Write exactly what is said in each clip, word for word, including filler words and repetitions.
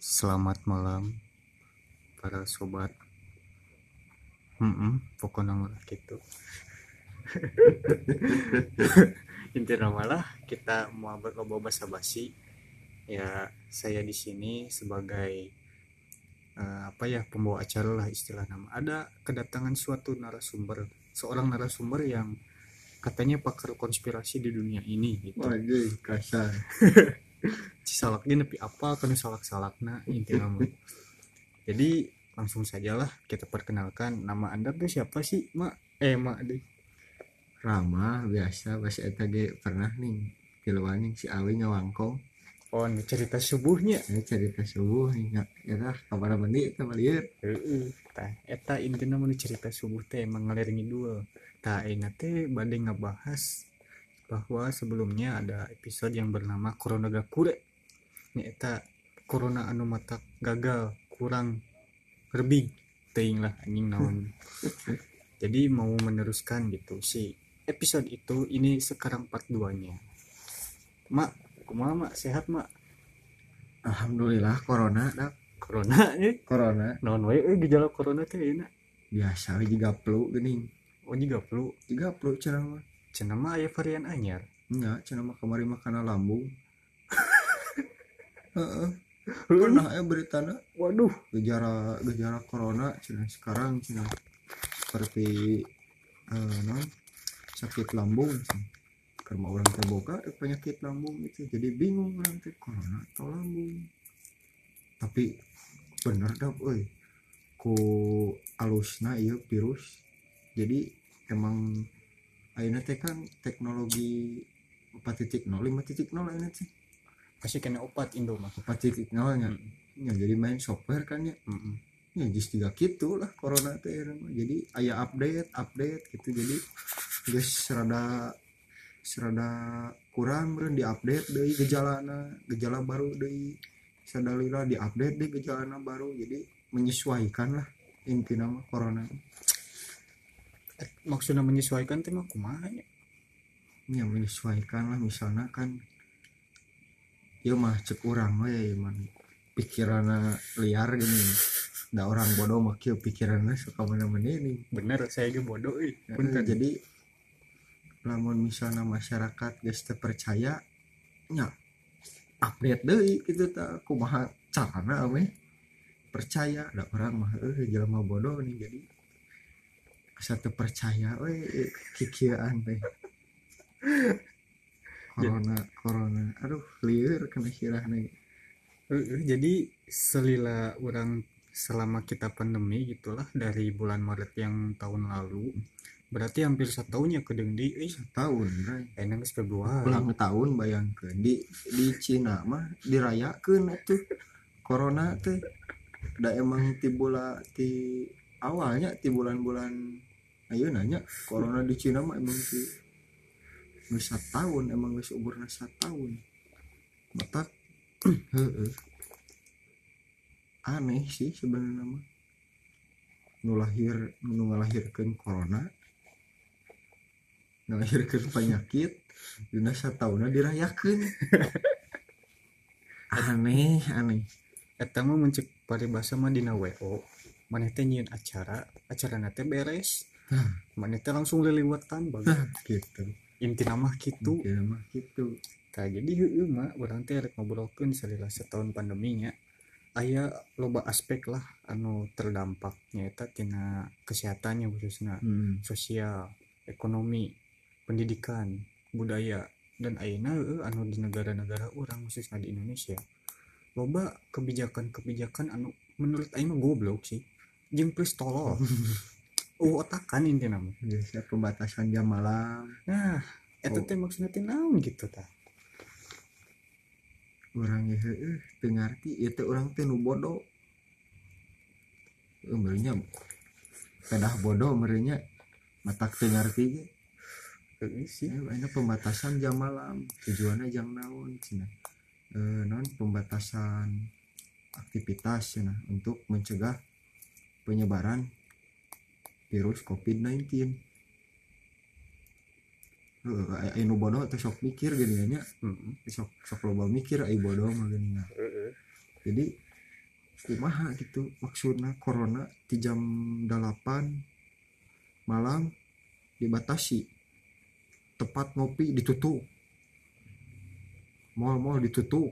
Selamat malam para sobat. Hmm, pokoknya malah gitu. Intinya malah kita mau berloba basa-basi. Ya, saya di sini sebagai eh, apa ya pembawa acara lah istilah nama. Ada kedatangan suatu narasumber, seorang narasumber yang katanya pakar konspirasi di dunia ini gitu. Waduh, kasar. Salaknya nepi apa kan salak-salakna intinya mah. Jadi langsung sajalah kita perkenalkan, nama Anda tuh siapa sih, Mak? Eh, Mak deh. Rama biasa pas eta ge pernah nih kiluan si Awi ngawangkong. Oh, ini cerita subuhnya. Ini cerita subuh nih ya kabar mandi eta mah lieur. Heeh. Tah, eta intina mun cerita subuh teh emang ngaliringi dua. Tah, ayeuna teh bade ngabahas bahwa sebelumnya ada episode yang bernama Corona Gakure. Ini eta corona anu mata gagal, kurang lebih teuing lah anjing naon. Jadi mau meneruskan gitu si episode itu, ini sekarang part dua-nya. Mak, kumaha Mak? Sehat, Mak? Alhamdulillah corona dak. Corona eh Corona naon wae eh gejala corona teh euna. biasa we jiga flu geuning. Oh, juga flu. Jiga flu cenah mah. Cenah mah aya varian anyar. Nya cenah mah kamari mah kana lambung. Heeh. Heeh. Pernah aya beritana Waduh, gejala gejala corona cenah sekarang cenah seperti eh non sakit lambung cenah. Karena orang terbuka penyakit lambung itu jadi bingung orang teh corona atau lambung. Tapi bener dah euy ku alusna ieu virus. Jadi emang ayeuna teh kan teknologi empat titik nol lima titik nol ayeuna teh pasti kena opat Indo mah. empat titik nol nya. Mm Ya, jadi main software kan ya. -mm. Ya just juga gitu lah corona teh. Jadi aya update update gitu, jadi geus rada serada kurang beren diupdate deui gejalana, gejala baru deui sadalila diupdate deh gejalana baru, jadi menyesuaikan lah intinya mah corona Eh, maksudnya menyesuaikan teh mah kumaha nya? ya. Menyesuaikan lah misalnya kan ieu mah cek urang we man pikiranna liar gini, da orang bodoh mah kieu pikiranna suka mana-mana ini. Bener, saya ge bodoh euy. Ya, Punten. jadi lamun misalnya masyarakat geus teu percaya nya update deui gitu ta kumaha carana we percaya. Ada orang mah eh jelema bodoh nih, jadi satu percaya we kikieuan teh corona corona aduh lieur kena sirahna. Heeh, jadi selila orang selama kita pandemi gitulah dari bulan Maret yang tahun lalu, berarti hampir setahun ya kedeng di euy. Tahun bray Enak geus Februari. ulang tahun bayangkeun di di Cina mah dirayakeun atuh corona teh. Da emang ti bula ti awalnya ti bulan-bulan ayeuna nya corona di Cina mah emang ti geus satahun, emang geus umurna satahun matak. Heeh, aneh sih sebenarnya mah nu lahir nu ngalahirkeun corona, ngalahirkeun penyakit dina satahunna dirayakeun. Aneh aneh. Eta mah mencek paribasa mah dina W O. Maneh teh nyieun acara, acarana teh beres. Maneh teh langsung liliwatan bagus. Nah gitu Intina mah kitu. kira mah gitu. Tah jadi heueuh mah urang teh rek ngobrolkeun salila setahun pandeminya. Aya loba aspek lah anu terdampak nyaeta tina kesehatannya khususna Hmm. sosial, ekonomi, pendidikan, budaya, dan ayeuna heueuh anu di negara-negara urang khususna di Indonesia. Loba kebijakan-kebijakan anu menurut aing mah goblok sih. Jeung please tolol. Oh, otakan intina mah. Biasa pembatasan jam malam. Nah, eta teh maksudna teh naon gitu tah. Urang ge heueuh teu ngarti ieu teh urang teh nu bodoh. Heuh meureunnya pedah bodoh meureunnya matak teu ngarti ge. Heueuh sih. Aya pembatasan jam malam, tujuanna jang naon cenah. Eh non pembatasan aktivitas cenah untuk mencegah penyebaran virus covid sembilan belas. Heeh, aya nu bodoh teh sok mikir geuning nya. Heeh. Sok sok loba mikir ai bodoh mah geuning. Heeh. Jadi kumaha gitu maksudnya corona di jam delapan malam dibatasi, tempat ngopi ditutup, mal-mal ditutup,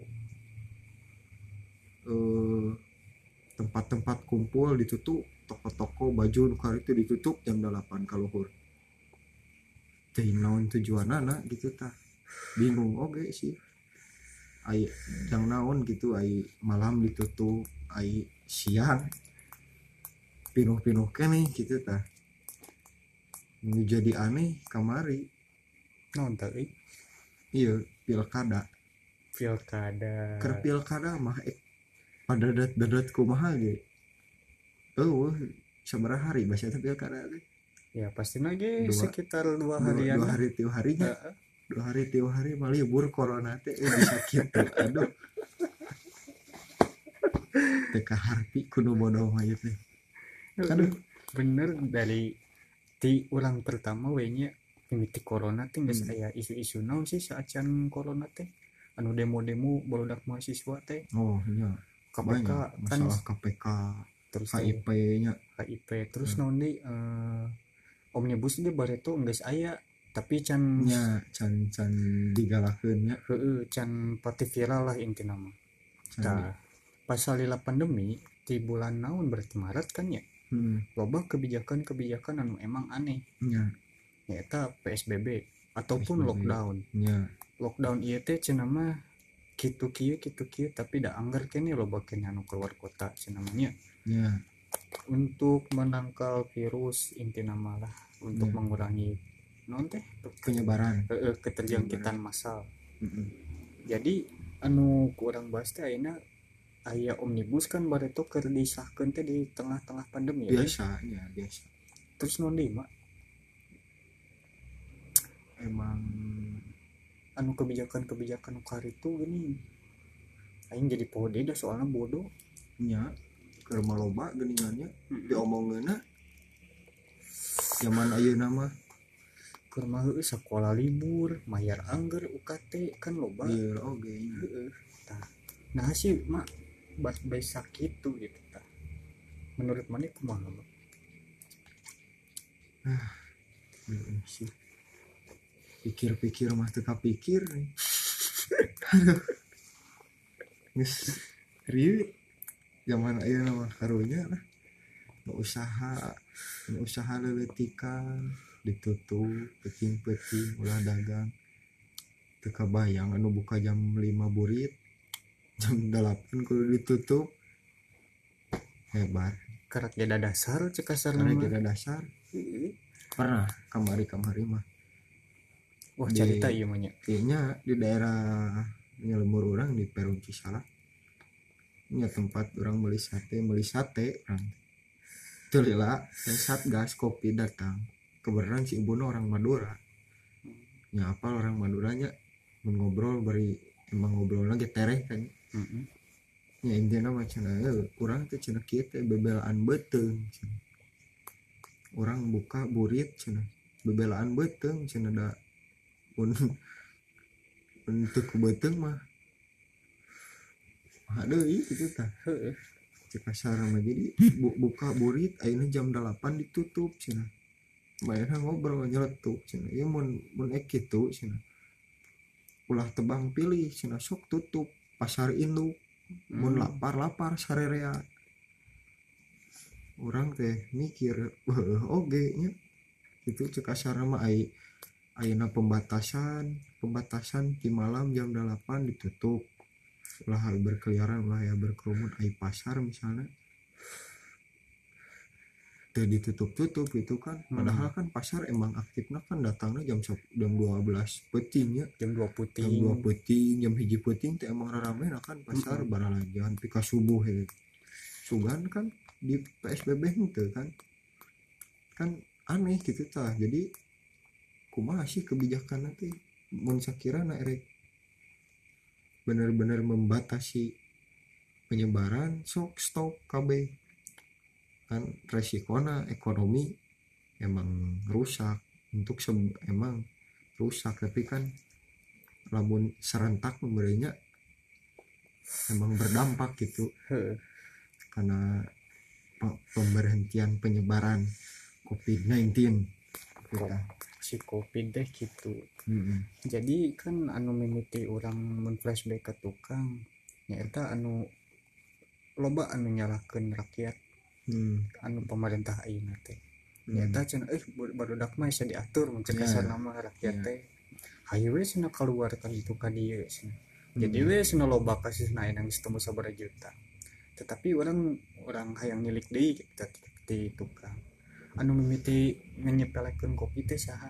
eh, tempat-tempat kumpul ditutup, toko-toko baju nukar itu ditutup jam delapan kaluhur. Jadi naon tujuan anak gitu tah bingung oke sih. Ai yang naon gitu ai malam ditutup, ai siang pinuh-pinuh nih gitu tah. Jadi aneh kamari. non tadi Iya pilkada. pilkada Ker pilkada mah eh pada dadat kumaha ge. Oh, sabaraha hari bahasa pilkada teh? ya pasti lagi Dua sekitar dua dua, harian dua lah. hari tiap harinya. Heeh. Dua hari tiap hari malah libur corona teh eh bisa kitu. Aduh. Teka harti kudu bodoh mah ieu teh. Aduh. Bener dari ti ulang pertama we nya mimiti corona teh geus Hmm. aya isu-isu naon sih saacan corona teh anu demo-demo barudak mahasiswa teh Oh iya K P K banyak kan masalah K P K, terus K I P-nya. K I P terus Hmm. naon deui eh, omnibus dia bareto geus aya tapi can nya can can digalakeun nya. heueuh can pati viral lah intina mah. Can di- Tah pas salila pandemi di bulan naon berarti Maret kan ya Hmm. loba kebijakan-kebijakan anu emang aneh Nya nyata P S B B ataupun P S B B. lockdown. Nya Lockdown ieu teh cenah mah kitu kieu kitu kieu tapi da anggar keneh loba keneh anu keluar kota cenah mah nya nya untuk menangkal virus intina mah lah untuk Ya. mengurangi non teh penyebaran. eh, keterjangkitan massal. Mm-mm. Jadi anu kurang bahas teh ayeuna aya omnibus kan bareto keur disahkeun teh di tengah-tengah pandemi ya. Biasa ya biasa. Terus non deui mah Emang anu kebijakan-kebijakan kari itu gini aing jadi poho deui dah soalna bodoh. nya keur maloba geuningannya Mm-mm. diomongeuna zaman ayeuna mah Keur mah heueuh sakola libur mayar anggar U K T kan loba. ieu oge nya. Heeh. Tah nah sih mak bas bae sakitu gitu tah. Menurut mana kumaha mah? Heeh sih. Pikir-pikir mah teu kapikir. Geus rieu zaman ayeuna mah karunya lah. Nu usaha, nu usaha leuletikan ditutup, peuting-peuting ulah dagang. Teu kabayang anu buka jam lima burit, jam delapan kudu ditutup. Hebat. Karak jeda dasar cek kasar Karena mah. kita dasar Heeh. pernah kamari-kamari mah. Wah Di- cerita ieu mah nya. Kayaknya di daerah nyelumur orang di Perum Cisalak. Nya tempat orang beli sate, beli sate orang. Itu lila, yang Satgas kopi datang. Kebenaran si ibunya orang Madura. Nya apa orang Maduranya ngobrol beri emang ngobrol lagi tereh kan. Heeh. Nya intinya mah cenah eueuh urang teh cenah kieu teh bebelaan beuteung cenah. Urang buka burit cenah. Bebelaan beuteung cenah da pun untuk beuteung mah aduh itu tah Heeh. cek kasar mah jadi bu, buka burit ayeuna jam delapan ditutup cenah bayarna ngobrol nyeletuk cenah ieu mun mun ek kitu cenah ulah tebang pilih cenah sok tutup pasar induk mun Hmm. lapar lapar sarerea urang teh mikir heuh oge nya itu cek kasar mah ai ayeuna pembatasan pembatasan di malam jam delapan ditutup ulah berkeliaran ulah ya berkerumun ai pasar misalnya teu ditutup-tutup gitu kan padahal kan pasar emang aktifnya kan datangnya jam sep- jam dua belas peuting nya Jam dua jam puting. dua peuting jam hiji peuting teh emang rarame kan pasar Mm-mm. baralajan pika subuh he sugan kan di P S B B henteu kan kan aneh gitu tah jadi kumaha sih kebijakan nanti mun sakirana erek benar-benar membatasi penyebaran sok stop K B kan resikona ekonomi emang rusak untuk se- emang rusak tapi kan lamun serentak memberinya emang berdampak gitu Heeh. karena pe- pemberhentian penyebaran covid sembilan belas kita. Si covid deh gitu. Mm-mm. Jadi kan anu mimiti orang men flashback ke tukang nyata anu loba anu nyalahkeun rakyat Hmm. anu pemerintah ayeuna teh Hmm. nyata cenah eh barudak mah bisa diatur mun Ya. kasar nama rakyat Ya. teh hayu we cenah keluar ka ditu ka dieu cenah. Hmm. Jadi we cenah loba kasusna aya nangis temu sabaraha juta. Tetapi orang orang hayang nilik deui kita di tukang anu mimiti nyepelekeun kopi teh saha.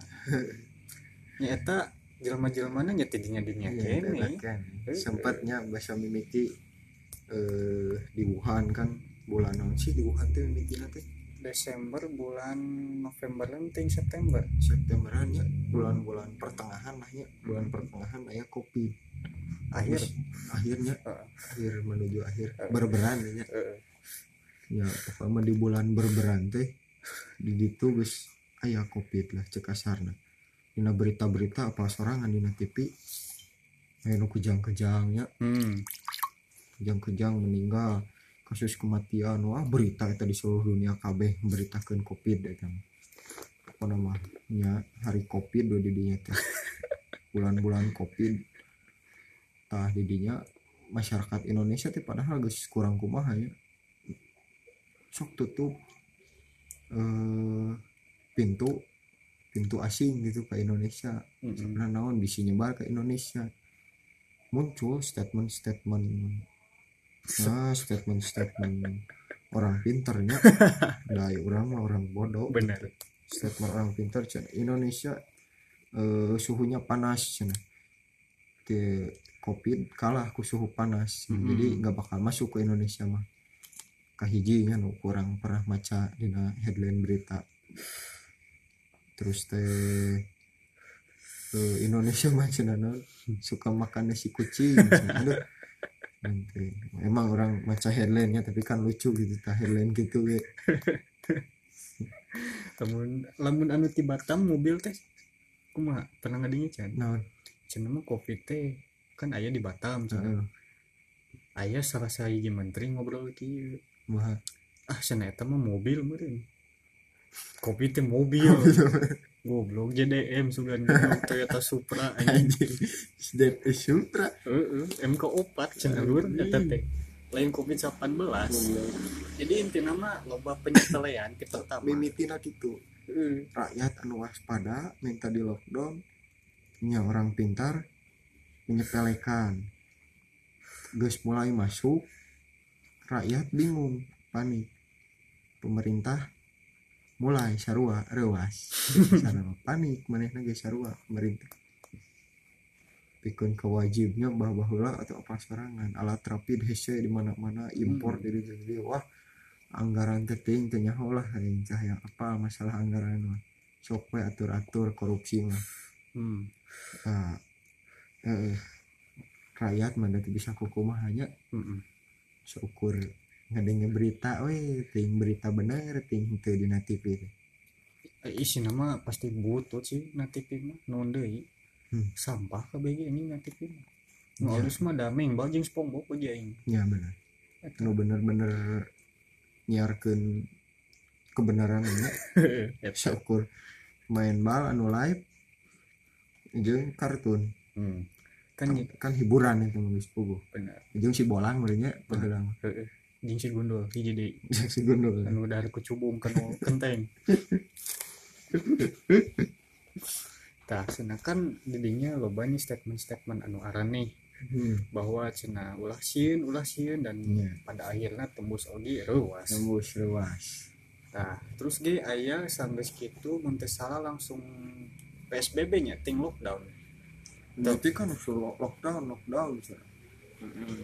Nyata jelema-jelemana nya tidinya dinya Iya, kene. kan. Eh, Sempatnya bahasa mimiti eh, di Wuhan kan bulan naon sih di Wuhan teh mimitina teh Desember bulan November ting September Septemberan ya bulan-bulan pertengahan lah ya bulan pertengahan aya covid akhir Terus akhirnya uh, akhir menuju akhir Eh. berberan ya uh, ya pokoknya di bulan berberan teh di ditu geus aya covid lah cek kasarna dina berita-berita apa sorangan dina T V aya nu kejang-kejang ya hmm. kejang-kejang meninggal kasus kematian wah berita eta di seluruh dunia kabeh memberitakeun covid eta apa namanya hari covid do di dinya teh bulan-bulan covid tah di dinya masyarakat Indonesia teh padahal geus kurang kumaha ya sok tutup eh, pintu pintu asing gitu ke Indonesia Mm-mm. nah naon bisa nyebar ke Indonesia muncul statement-statement nah statement-statement orang pinternya dari orang mah orang bodoh Bener. statement orang pintar cenah Indonesia eh, suhunya panas cenah ke covid kalah ku suhu panas Mm-mm. jadi nggak bakal masuk ke Indonesia mah kahijinya nu kurang pernah maca dina headline berita terus teh eh, Indonesia mah cenah naon suka makan nasi kucing cenah. Aduh nanti emang orang maca headline-nya tapi kan lucu gitu tah headline gitu we. Temun lamun anu ti Batam mobil teh kumaha pernah ngadinya can Naon cenah mah covid teh kan aya di Batam cenah heeh aya salah sahiji menteri ngobrol kieu mah ah cenah eta mah mobil meureun covid teh mobil goblok J D M sugan goblok Toyota Supra anjing anjing Zed Supra heeh M K opat cenah lur eta teh lain covid delapan belas jadi intina mah loba penyetelean ti pertama mimitina gitu heeh rakyat anu waspada minta di lockdown nya orang pintar menyepelekan geus mulai masuk rakyat bingung panik pemerintah mulai sarua rewas sarua panik manehna geus sarua pemerintah pikeun kewajibnya bahwa heula atau apa sorangan alat rapid hese di mana-mana impor Hmm. dari jadi wah anggaran teh teuing teh nyaho lah aing cahaya apa masalah anggaran mah sok we atur-atur korupsi mah hmm. nah, eh, rakyat mah teu bisa kukumaha nya Mm-mm. seukur ngadenge berita we teuing berita bener teuing teu dina T V teh. Eh, isi nama pasti butut sih na T V mah non deui Hmm. sampah kabeh ini na T V mah nu Ya. alus mah dameng bal jeung SpongeBob aja aing Ya bener eta nu bener-bener nyiarkeun kebenaran nya eta seukur main bal anu live jeung kartun hmm. kan kan, kan hiburan itu nulis puguh bener jeung si bolang meureun nya padahal heeh jeung si gundul hiji deui jeung si gundul anu dahar kucubung kan kenteng tah cenah kan didinya loba nih statement-statement anu araneh hmm. bahwa cenah ulah sieun ulah sieun dan Iya. pada akhirnya tembus oge reuas. tembus ruas Nah, terus ge aya sanggeus kitu mun teu salah langsung P S B B nya ting lockdown. berarti kan usul lockdown lockdown cenah Heeh.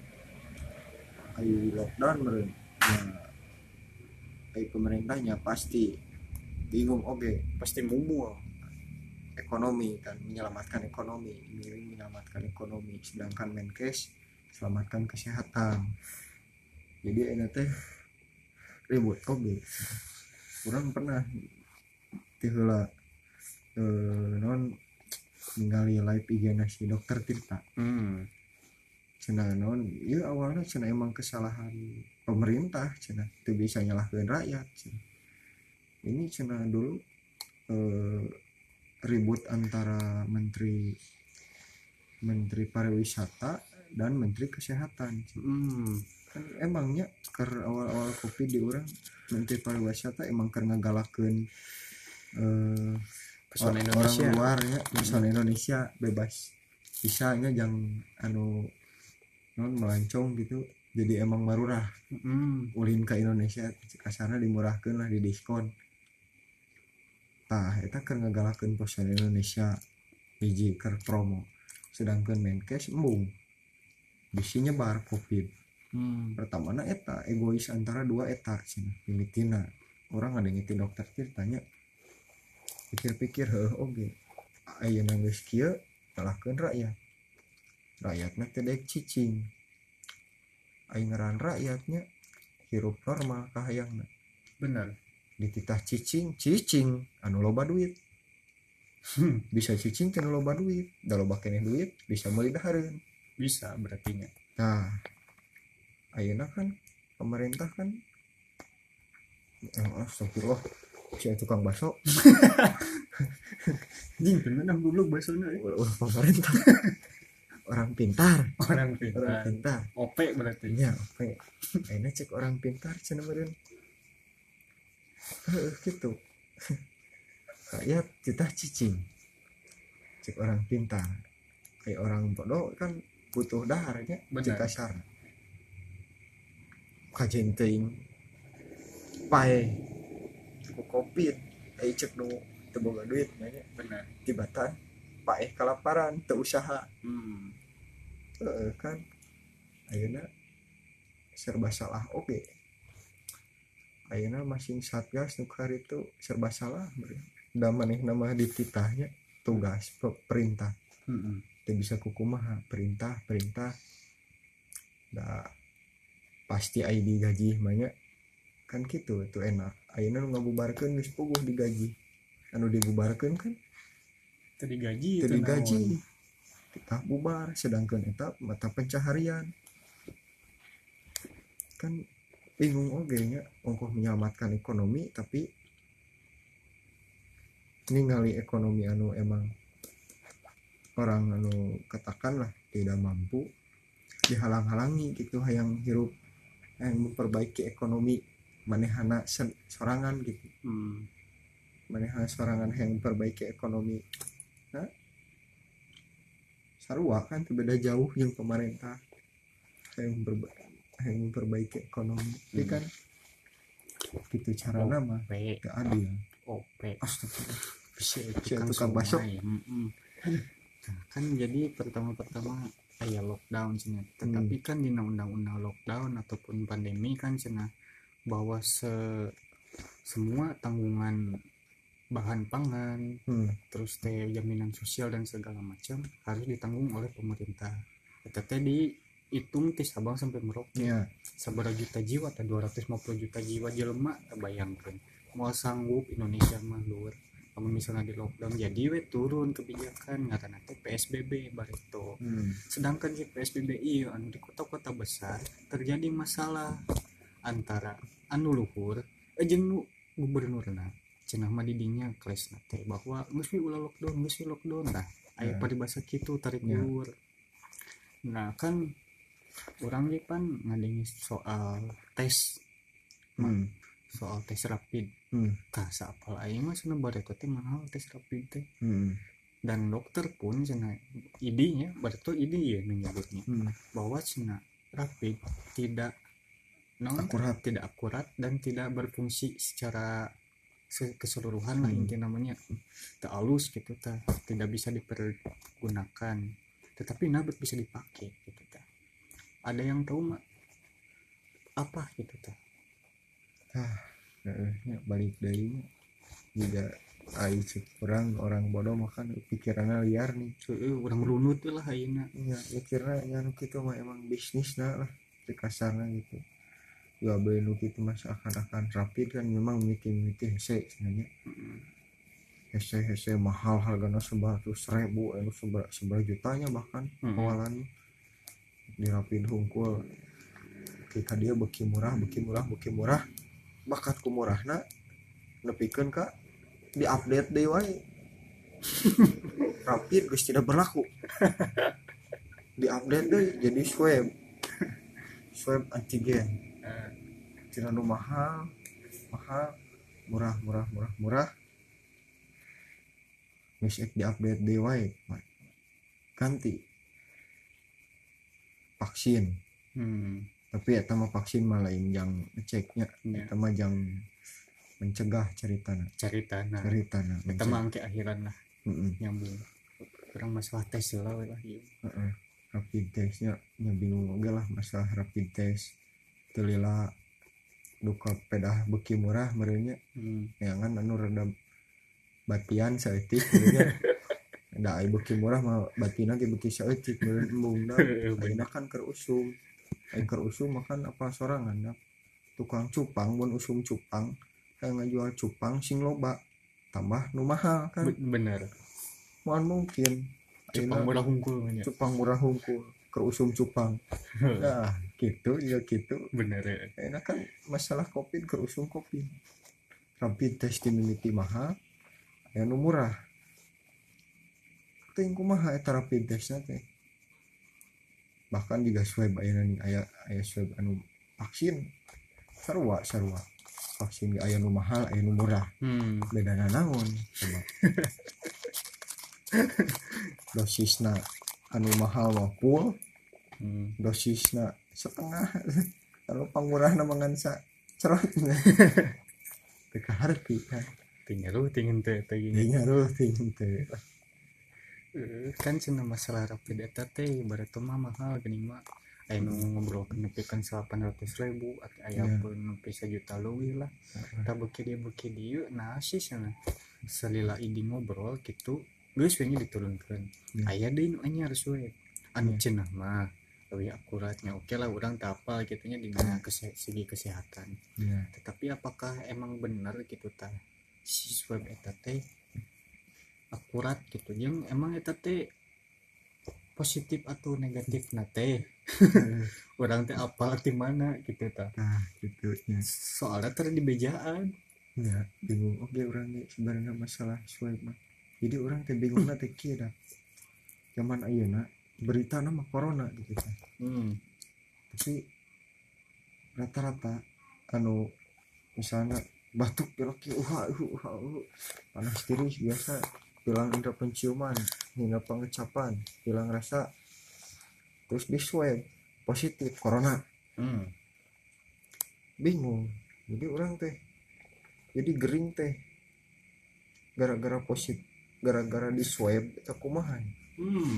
ayo lockdown meureun nah ai pemerintahnya pasti bingung oge Pasti mumul. ekonomi kan menyelamatkan ekonomi ini menyelamatkan ekonomi sedangkan Menkes selamatkan kesehatan jadi ini teh ribut oge kurang pernah tiheula eh non ningali live I G na si dokter Tirta Hmm. cenah non ya awalnya cenah emang kesalahan pemerintah cenah itu bisa nyalahkan rakyat cenah. Ini cenah dulu eh, ribut antara menteri menteri pariwisata dan menteri kesehatan cenah. Hmm. Kan emangnya ker awal-awal covid di orang menteri pariwisata emang karena ngagalakeun eh, Pesona orang Indonesia. luarnya pesona Indonesia bebas bisanya jangan anu non melancong gitu, jadi emang marurah Hmm. ulin ke Indonesia kasarna dimurahkeun lah di diskon. Tah eta keur ngagalakeun pesona Indonesia hiji keur promo, sedangkan Menkes embung bisi nyebar covid. Hmm. Pertamana eta egois antara dua eta cenah mimitina orang ada ngiti dokter tanya pikir-pikir heuh oge ayeuna geus kieu nyalahkeun rakyat rakyatna teh daek cicing aing ngaran rakyatnya hirup normal kahayangna Benar. dititah cicing cicing anu loba duit Hmm. bisa cicing teh anu loba duit da loba keneh duit bisa meuli dahareun. Bisa berarti nya. Nah ayeuna kan pemerintah kan eh, astagfirullah si tukang bakso Jing bener goblok basona. ulah pemerintah orang pintar Orang orang pintar. pintar O P berarti. nya oke ayeuna cek orang pintar cenah meureun heuh kitu rakyat kita cicing cek orang pintar kayak orang bodoh kan butuh daharnya Benar. cek kasar kajen teuing pae ku covid ai cek nu teu boga duit nya Benar. tibatan pae kalaparan teu usaha. Hmm. Heeh kan ayeuna serba salah oke ayeuna masing satgas nu itu serba salah da manehna mah dititahnya tugas pe- perintah Hmm. teu bisa kukumaha perintah perintah da pasti aya digaji mah nya kan kitu itu enak ayeuna nu ngabubarkeun geus puguh digaji anu dibubarkeun kan Teu digaji. teu teu digaji naon. kita bubar sedangkan eta mata pencaharian kan bingung oge nya ongkoh menyelamatkan ekonomi tapi ningali ekonomi anu emang orang anu katakanlah tidak mampu dihalang-halangi gitu hayang hirup yang memperbaiki ekonomi manehana sen- sorangan gitu Hmm. manehana sorangan yang memperbaiki ekonomi nah sarua kan teu beda jauh jeung pemerintah yang memperba- yang memperbaiki ekonomi tapi Hmm. kan gitu carana mah O P. gak adil. O P. Astagfirullah Si Si tukang tukang bakso. somai. Mm-mm. Nah, kan jadi pertama-pertama aya lockdown cenah. Tetapi kan di undang-undang lockdown ataupun pandemi kan cenah bahwa se semua tanggungan bahan pangan hmm. terus teh jaminan sosial dan segala macam harus ditanggung oleh pemerintah. Eta teh dihitung ti Sabang sampai Merauke. ya Sabaraha juta jiwa atau dua ratus lima puluh juta jiwa jelema bayangkeun mau sanggup Indonesia mah luar kalau misalnya di lockdown jadi we turun kebijakan ngaranna teh P S B B barito. hmm. Sedangkan si P S B B ieu anu di kota-kota besar terjadi masalah antara anu luhur eh, jeung nu gubernurna cenah mah di dinya klesna teh bahwa geus we ulah lockdown geus we lockdown tah aya Ya. paribasa kitu tarik Ya. ulur. Nah kan orang ge pan ngadengi soal tes Hmm. soal tes rapid Hmm. tah saapal aing mah cenah bareta teh mahal tes rapid teh Hmm. dan dokter pun cenah idinya bareta idi ya menyebutnya Hmm. bahwa cenah rapid tidak non Akurat. tidak akurat dan tidak berfungsi secara se- keseluruhan lah Hmm. inti namanya tak halus gitu tah tidak bisa dipergunakan tetapi nabet bisa dipakai gitu tah ada yang tahu mak apa gitu tah Heeh, nya balik deui juga ai cek orang orang bodoh makan pikiranna liar nih Heeh, urang runut we lah ayeuna ya mikirna nya nu kitu mah emang bisnisna lah di kasarna gitu ya beli nu kitu mah seakan-akan rapid kan memang mimiti-mimiti hese sebenarnya Heeh. hese-hese mahal hargana seberatus ribu anu seber seber jutanya bahkan Hmm. awalan di rapid hungkul ketika dia beki murah beki murah beki murah bakat ku murahna nepikeun ka di update deui wae rapid geus tidak berlaku di update deui jadi swab swab antigen tina nu mahal mahal murah murah murah murah geus di update deui wae ganti vaksin. Hmm. Tapi eta mah vaksin mah lain yang ngeceknya Ya. eta mah yang mencegah ceritana Ceritana. ceritana Eta mah angke akhiran lah heeh nyambung. Kurang masalah tes lah we lah ieu. heeh rapid testnya nya bingung oge lah masalah rapid test teu lila duka pedah beuki murah meureunnya Hmm. neangan anu rada batian saeutik meureunnya da ai beuki murah mah batina ge beuki saeutik meureun embungna ayeuna kan keur usum ai keur usum makan apa sorangan da tukang cupang mun usum cupang kayak ngajual cupang sing loba tambah nu mahal kan Bener. mohon mungkin Cupang murah hungkul nya. cupang murah hungkul keur usum cupang nah gitu ya gitu Bener ya. enak kan masalah covid keur usum covid rapid test immunity mahal aya nu murah teuing kumaha eta rapid test teh bahkan juga swab aya nih aya aya swab anu vaksin sarua sarua vaksin aya nu mahal aya nu murah Hmm. bedana naon coba dosisna anu mahal mah full Hmm. dosisna setengah kalau pangmurahna mangan sa cerot teu kaharti kan Tinggal lu tingin teh teh teu gini. ngaruh ting teu Eh, kan cenah masalah rapid eta teh ibarat mah mahal geuning mah aya nu ngobrolkeun nepikeun salapan ratus ribu atau aya Ya. pun nepi sajuta leuwih lah. Tah beuki dieu beuki dieu nah sih sana salila idi ngobrol gitu geus we nya diturunkeun. Ya. Aya deui nu anyar we anu Ya. cenah mah leuwih akuratnya oke lah urang teu apal kitu nya dina kese, segi kesehatan. ya Tetapi apakah emang benar gitu tah si swab eta teh akurat gitu jeung emang eta teh positif atau negatif na teh orang teh apal di mana gitu tah nah gitu ya soalnya tadi di bejaan ya bingung oke orang ge sebenarnya masalah swab mah jadi orang teh bingungna teh kieu da zaman ayeuna berita nama corona gitu kan hmm. tapi rata-rata anu misalnya batuk pilek uha uha uha panas tiris biasa hilang indera penciuman hingga pengecapan hilang rasa terus di swab positif corona Hmm. bingung jadi orang teh jadi gering teh gara-gara positif gara-gara di swab eta kumaha Hmm.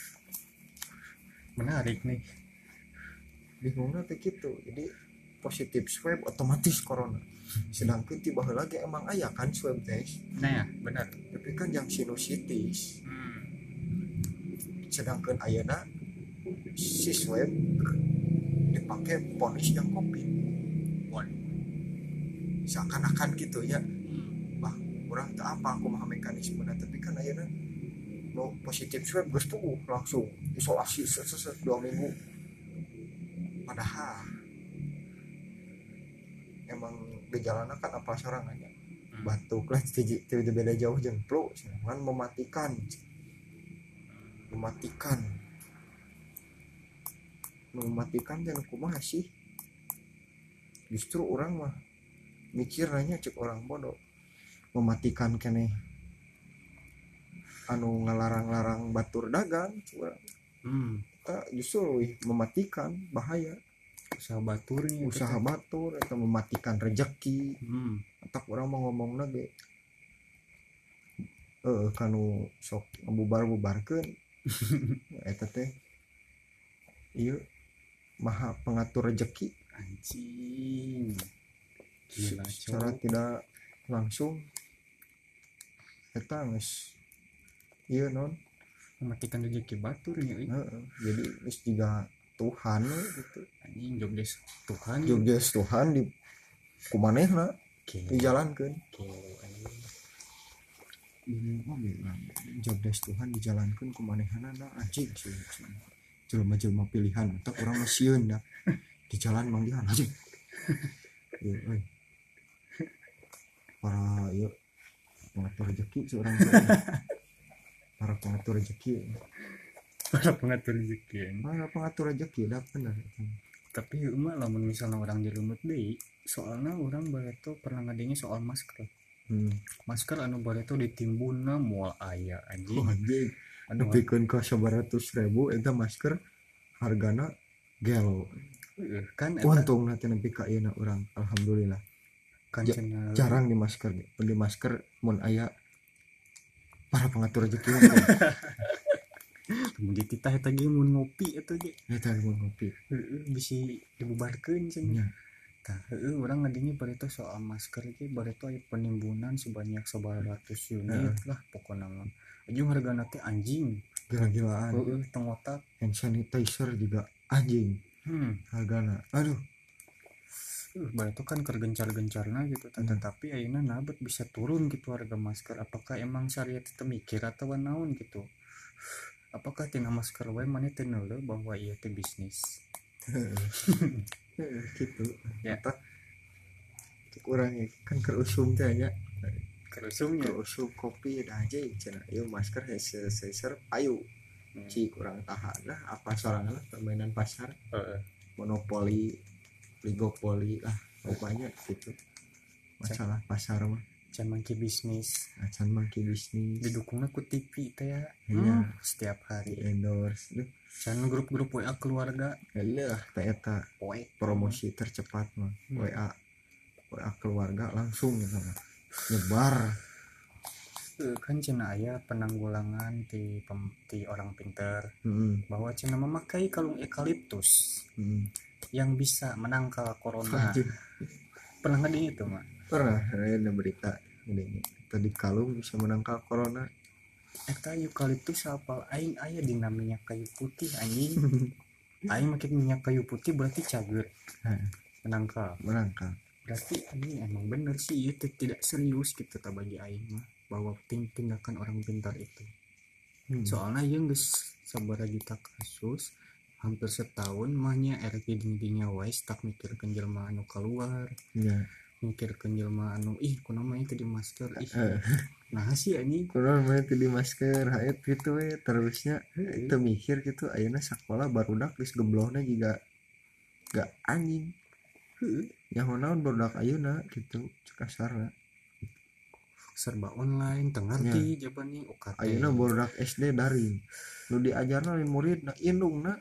Menarik nih bingungnya teh gitu jadi positif swab otomatis corona sedangkan tiba lagi emang aya kan swab test nah ya benar tapi kan yang sinusitis hmm. sedangkan ayeuna si swab dipakai ponis yang covid seakan-akan gitu ya bah kurang tak apa aku mah mekanisme tapi kan ayeuna no positif swab geus tuh langsung isolasi seset dua minggu padahal emang gejalana kan apa sorangannya batuk lah tidak beda jauh jeung flu kan mematikan mematikan mematikan dan kumaha sih justru orang mah mikir nanya cek orang bodoh mematikan kene anu ngalarang-larang batur dagang curang Hmm. kita justru wih, mematikan bahaya Usaha baturnya usaha batur atau mematikan rezeki hmm. tak orang mau ngomong lagi eh kanu sok bubar-bubarkeun eta teh ieu maha pengatur rezeki anjing gila secara cowok tidak langsung eta geus ieu non mematikan rezeki baturnya euy. heeh jadi geus jiga Tuhan we gitu Anjing jobdes Tuhan jobdes Tuhan di kumanehna Gila. dijalankeun Gila, anjing. ini oge jobdes Tuhan dijalankeun kumanehna anjing sih jelema-jelema pilihan atau orang masieun dah di jalan manggihan aja. Ieu euy. Para ieu pengatur rezeki seorang para pengatur rezeki. Para pengatur rezeki. Para pengatur rezeki dah bener. Tapi emak lamun misalnya orang jelumut deui, soalnya orang bareto pernah ngadenge soal masker. Hmm. Masker anu bareto ditimbunna moal aya anjing. Oh, anjing. Anu Nepikeun ka sabaratus ribu eta masker hargana gelo. uh, kan eta Untung nanti nepi ka ieu urang alhamdulillah. kan Ja- cenah Jarang di masker, di masker mun aya para pengatur rezeki. mun dititah eta ge mun ngopi eta ge Eta mun ngopi. heueuh bisi dibubarkeun cenah. Nya. Tah heueuh urang ngadenge bareto soal masker ge bareto aya penimbunan sebanyak sabaratus unit lah pokona mah. Ujung hargana teh anjing. Gila-gilaan. Heueuh tong otak. Hand sanitizer juga anjing Hmm. hargana. Aduh, Uh, bareto kan keur gencar-gencarna gitu tah, Hmm. tapi ayeuna nabet bisa turun gitu harga masker. Apakah emang syariat teh mikir atawa naon gitu? Apakah tina masker wae maneh teu neuleuh bahwa ieu teh bisnis? gitu. Ya. Eta cek urang kan keur usum teh nya. Kerusumnya. Keur usum kopi dah aja cenah. Ieu masker hand sanitizer payu. Hmm. Ci kurang tahan lah apa sorangan lah permainan pasar, Heeh. monopoli, oligopoli lah pokoknya gitu. Masalah pasar mah Can mangki bisnis. acan mangki bisnis Didukungna ku T V teh ya. Iya. Hmm, setiap di hari. endorse duh Can grup-grup W A keluarga. elah teh eta Poe. promosi tercepat mah Hmm. W A W A keluarga langsung gitu mah nyebar. Uh, kan cenah aya penanggulangan ti pem, ti orang pinter Heeh. bahwa cenah memakai kalung eukaliptus Heeh. yang bisa menangkal corona. Anjing. Pernah ngadeng itu mah? Pernah ada berita ini tadi kalung bisa menangkal corona. Eta eukaliptus apal aing aya di namanya kayu putih anjing. Aing make minyak kayu putih berarti cager. Heh, Menangkal. menangkal. Berarti anjing emang bener sih itu tidak serius gitu ta bagi aing mah bahwa ting- tindakan orang pintar itu. Hmm. Soalnya yang geus sabaraha juta kasus hampir setahun mahnya R P dingdinya wae tak mikirkeun jelema anu keluar, Ya. mikirkeun jelema anu ih kunaon mah teh di masker ih. Eh. Nah sih anjing. Kurang main di masker haet gitu we terusnya Heeh. teu mikir gitu ayeuna sakola barudak geus geblona juga gak anjing. Heeh. Yang naon barudak ayeuna gitu cek kasarna. Serba online tengarti jawabannya U K T. Ayeuna barudak S D daring. Nu diajarna lain muridna indungna.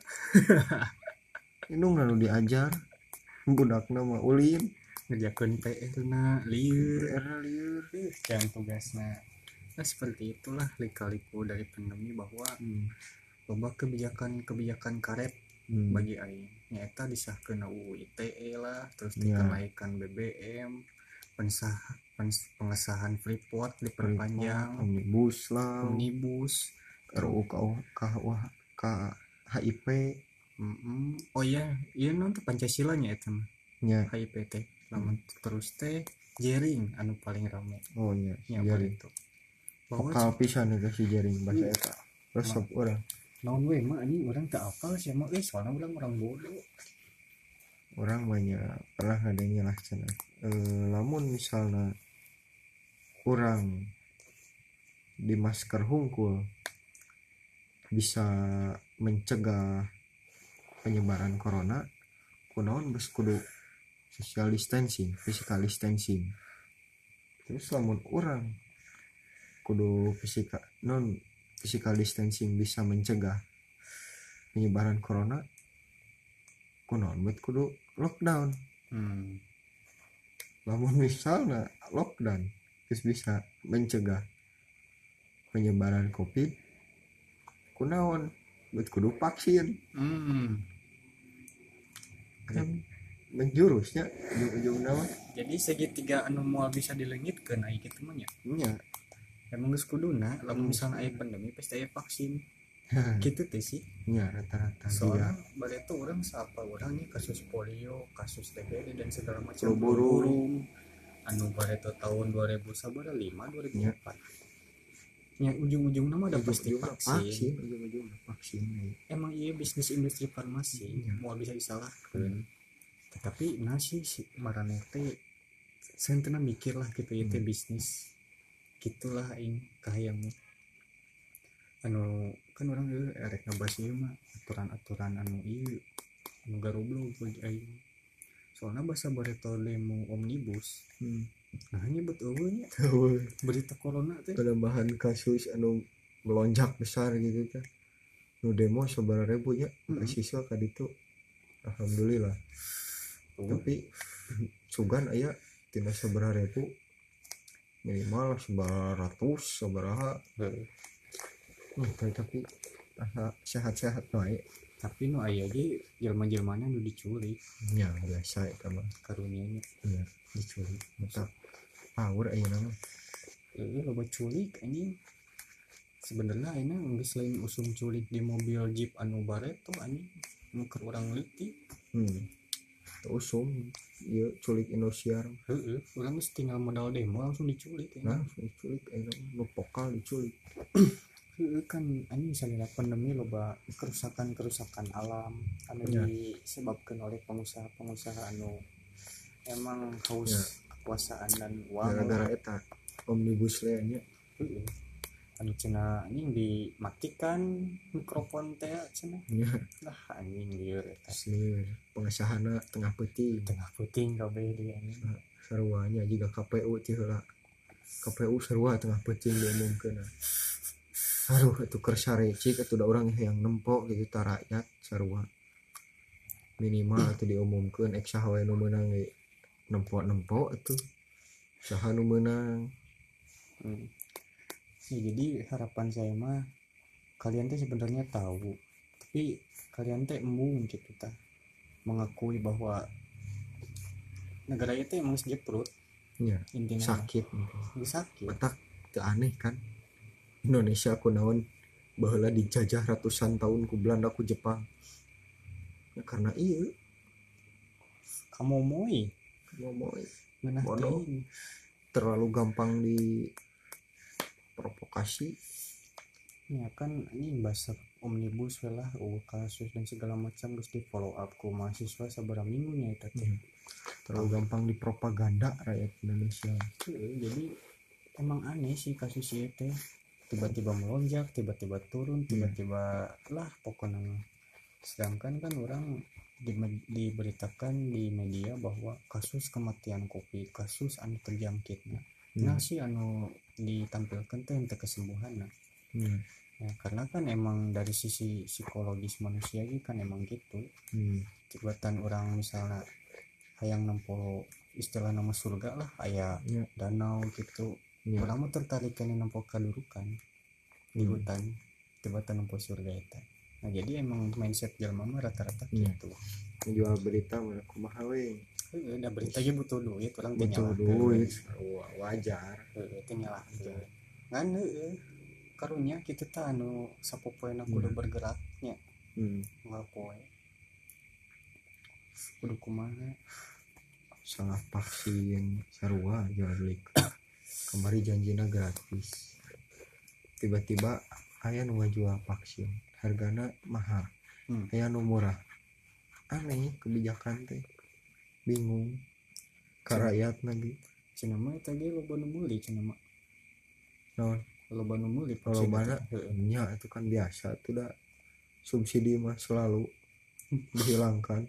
Indungna nu diajar. Budakna mah ulin. Ngerjakeun P R na lieur. P R lieur. Yang tugasna. Nah seperti itulah lika-liku dari pandemi bahwa Hmm. loba kebijakan-kebijakan karet Hmm. bagi aing nyaeta disahkeun U U I T E lah, terus Ya. dikenaikan B B M, pensah pens- pengesahan Freeport diperpanjang, Omnibus lah. omnibus. R U K K K H I P Mm-mm. Oh iya, iya nanti Pancasilanya eta mah nya. H I P teh. Lamun terus teh jaring anu paling rame Oh nya. nya Jaring. itu. Bahwa Vokal pisan itu si jaring bahasa Hmm. eta. Resep urang. naon we mah anjing urang teu apal sih mah euy soalna urang orang bodoh. Orang banyak pernah ngadengin lah cenah. Eh, lamun misalnya kurang di masker hungkul bisa mencegah penyebaran corona kunaon geus kudu social distancing, physical distancing. Terus lamun orang kudu physical non physical distancing bisa mencegah penyebaran corona kunaon bet kudu lockdown. Hmm. Lamun misalnya lockdown terus bisa mencegah penyebaran covid kunaon bet kudu vaksin Hmm. kan menjurusnya ujung-ujung nama Jadi segitiga anu moal bisa dilengitkeun aya kitu mah nya. nya. Emang geus kuduna lamun Hmm. misalnya aya pandemi pasti aya vaksin. Kitu teh sih. Nya rata-rata dia Soalnya bareto urang saapa urangnya kasus polio, kasus T B D dan segala macam flu burung anu bareto tahun dua ribu sabaraha lima dua ribu empat. yang ujung-ujungnya mah udah pasti ujung-ujungna vaksin. vaksin ujung-ujungna vaksin ya. Emang iya bisnis industri farmasi Iya. mau bisa disalahkan. Hmm. Tetapi nasi si marane teh sentena mikir lah gitu ya teh Hmm. bisnis gitulah aing kahayang anu kan orang ieu erek ngabahas ieu mah aturan-aturan anu ieu anu garoblog bagi aing soalnya bahasa bareto demo omnibus Hmm. nah nyebut eueuh nya Tahu berita corona teh penambahan kasus anu melonjak besar gitu kan nu demo sabaraha ribu nya Mm-mm. siswa ka ditu alhamdulillah tapi sugan aya tina sabaraha ribu minimal sabaraha ratus sabaraha Heeh. hmm, tapi asa sehat-sehat bae tapi nu aya ge jelema-jelmana nu diculik nya biasa eta mah karunya nya diculik mata power aya nama eh loba culik anjing sebenarnya ayeuna geus lain usum culik di mobil jeep anu bareto anjing nu keur urang leutik hmm usum ieu culik Indosiar heeh urang geus tinggal modal demo langsung diculik nah anjing diculik aya nu vokal diculik heeh kan anjing misalnya pandemi loba kerusakan-kerusakan alam anu Ya. disebabkeun oleh pengusaha-pengusaha anu emang haus Ya. kekuasaan dan uang gara-gara eta omnibus law nya heeh anu cenah anjing dimatikan mikrofon teh cenah nya lah anjing lieur eta asli pengesahana tengah peuting tengah puting kabeh dia anjing sarua nya jiga K P U ti heula K P U sarua tengah peuting diumumkeun aduh atuh keur sarecik atuh da urang yang nempo gitu ta rakyat sarua minimal atuh diumumkeun ek saha wae nu meunang ge nempo-nempo atuh saha nu meunang. hmm. Ya, jadi harapan saya mah kalian teh sebenarnya tahu tapi kalian teh embung gitu ta mengakui bahwa negara itu emang sejeprut nya intinya sakit mah sakit matak teu aneh kan Indonesia kunaon baheula dijajah ratusan tahun ku Belanda ku Jepang ya karena ieu kamu moy ngomong ngeunah bodoh. teuing terlalu gampang di provokasi ya kan ini bahasa omnibus lah uh, kasus dan segala macam terus di follow up ku mahasiswa sabar minggunya itu teh hmm. terlalu gampang dipropaganda rakyat Indonesia. Heeh, jadi emang aneh sih kasus itu tiba-tiba melonjak tiba-tiba turun tiba-tiba lah pokoknya sedangkan kan orang di, diberitakan di media bahwa kasus kematian COVID kasus anu terjangkitnya hmm. nah sih anu ditampilkan tuh untuk kesembuhan nah hmm. ya, karena kan emang dari sisi psikologis manusia ini kan emang gitu hmm. tibatan orang misalnya hayang nempo istilah nama surga lah aya ya. danau gitu ya. orang mau tertarik kan nempo kadurukan di hmm. hutan tibatan nempo surga itu nah jadi emang mindset jelema mah rata-rata ya. gitu jual berita mana kumaha we heeh da berita ge butuh duit orang teh butuh nyalahkeun duit wajar heeh teh nyalahkeun ngan heueuh karunya kitu teh anu sapopoena kudu hmm. bergeraknya hmm. ngapoe kudu kumaha salah vaksin sarua jual beli kemari janjina gratis tiba-tiba aya nu ngajual vaksin hargana mahal hmm. aya nu murah aneh kebijakan teh bingung ka rakyat lagi cenah mah eta ge loba nu meuli cenah mah naon loba nu meuli kalau mana nya itu kan biasa itu dah subsidi mah selalu dihilangkan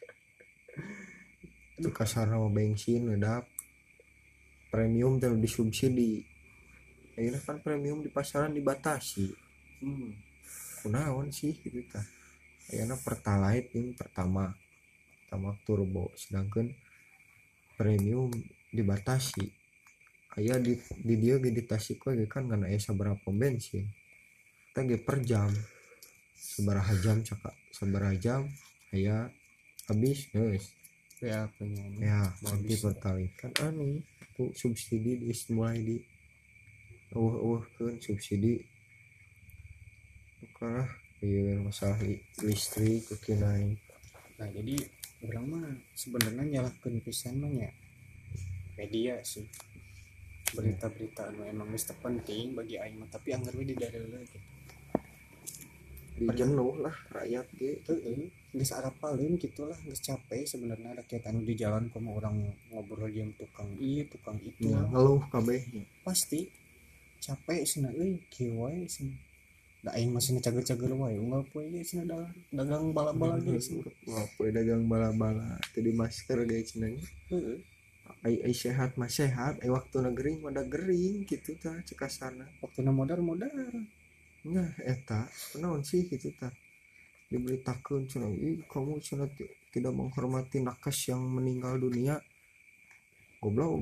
itu kasar nama bensin udah premium terus disubsidi akhirnya kan premium di pasaran dibatasi hmm. kunaon sih gitu tah akhirnya pertalite yang pertama pertama turbo sedangkan premium dibatasi aya di di dia ge di Tasik we kan kana aya sabaraha pom bensin teh ge per jam sabaraha jam caka sabaraha jam aya habis geus ya punya ya nanti pertalite kan aneh tuh subsidi di mulai di eueuh keun subsidi karena ieu masalah listrik kuki naik. Nah jadi orang mah sebenarnya nyalahkeun pisan mah nya media sih berita-berita anu emang geus teu penting bagi aing mah tapi anggar we di daerah gitu. di jenuh lah rakyat gitu. Heeh, geus arapaleun gitulah, geus capek sebenarnya rakyat anu di jalan komo orang ngobrol jeung tukang ieu tukang itu. Ya, ngeluh kabeh. Pasti capek cenah euy kieu wae cenah. Da aing mah cenah cager-cager wae unggal poe ge cenah dagang dagang bala-bala ge cenah. Wah, poe dagang bala-bala teu di masker ge cenah. Heeh. Ai ai sehat mah sehat, ai waktu gering mah da gering gitu tah cekasana. Waktuna modar-modar. Nya eta naon sih gitu tah. Diberitakeun cenah, "Ih, kamu cenah tidak menghormati nakes yang meninggal dunia." Goblok.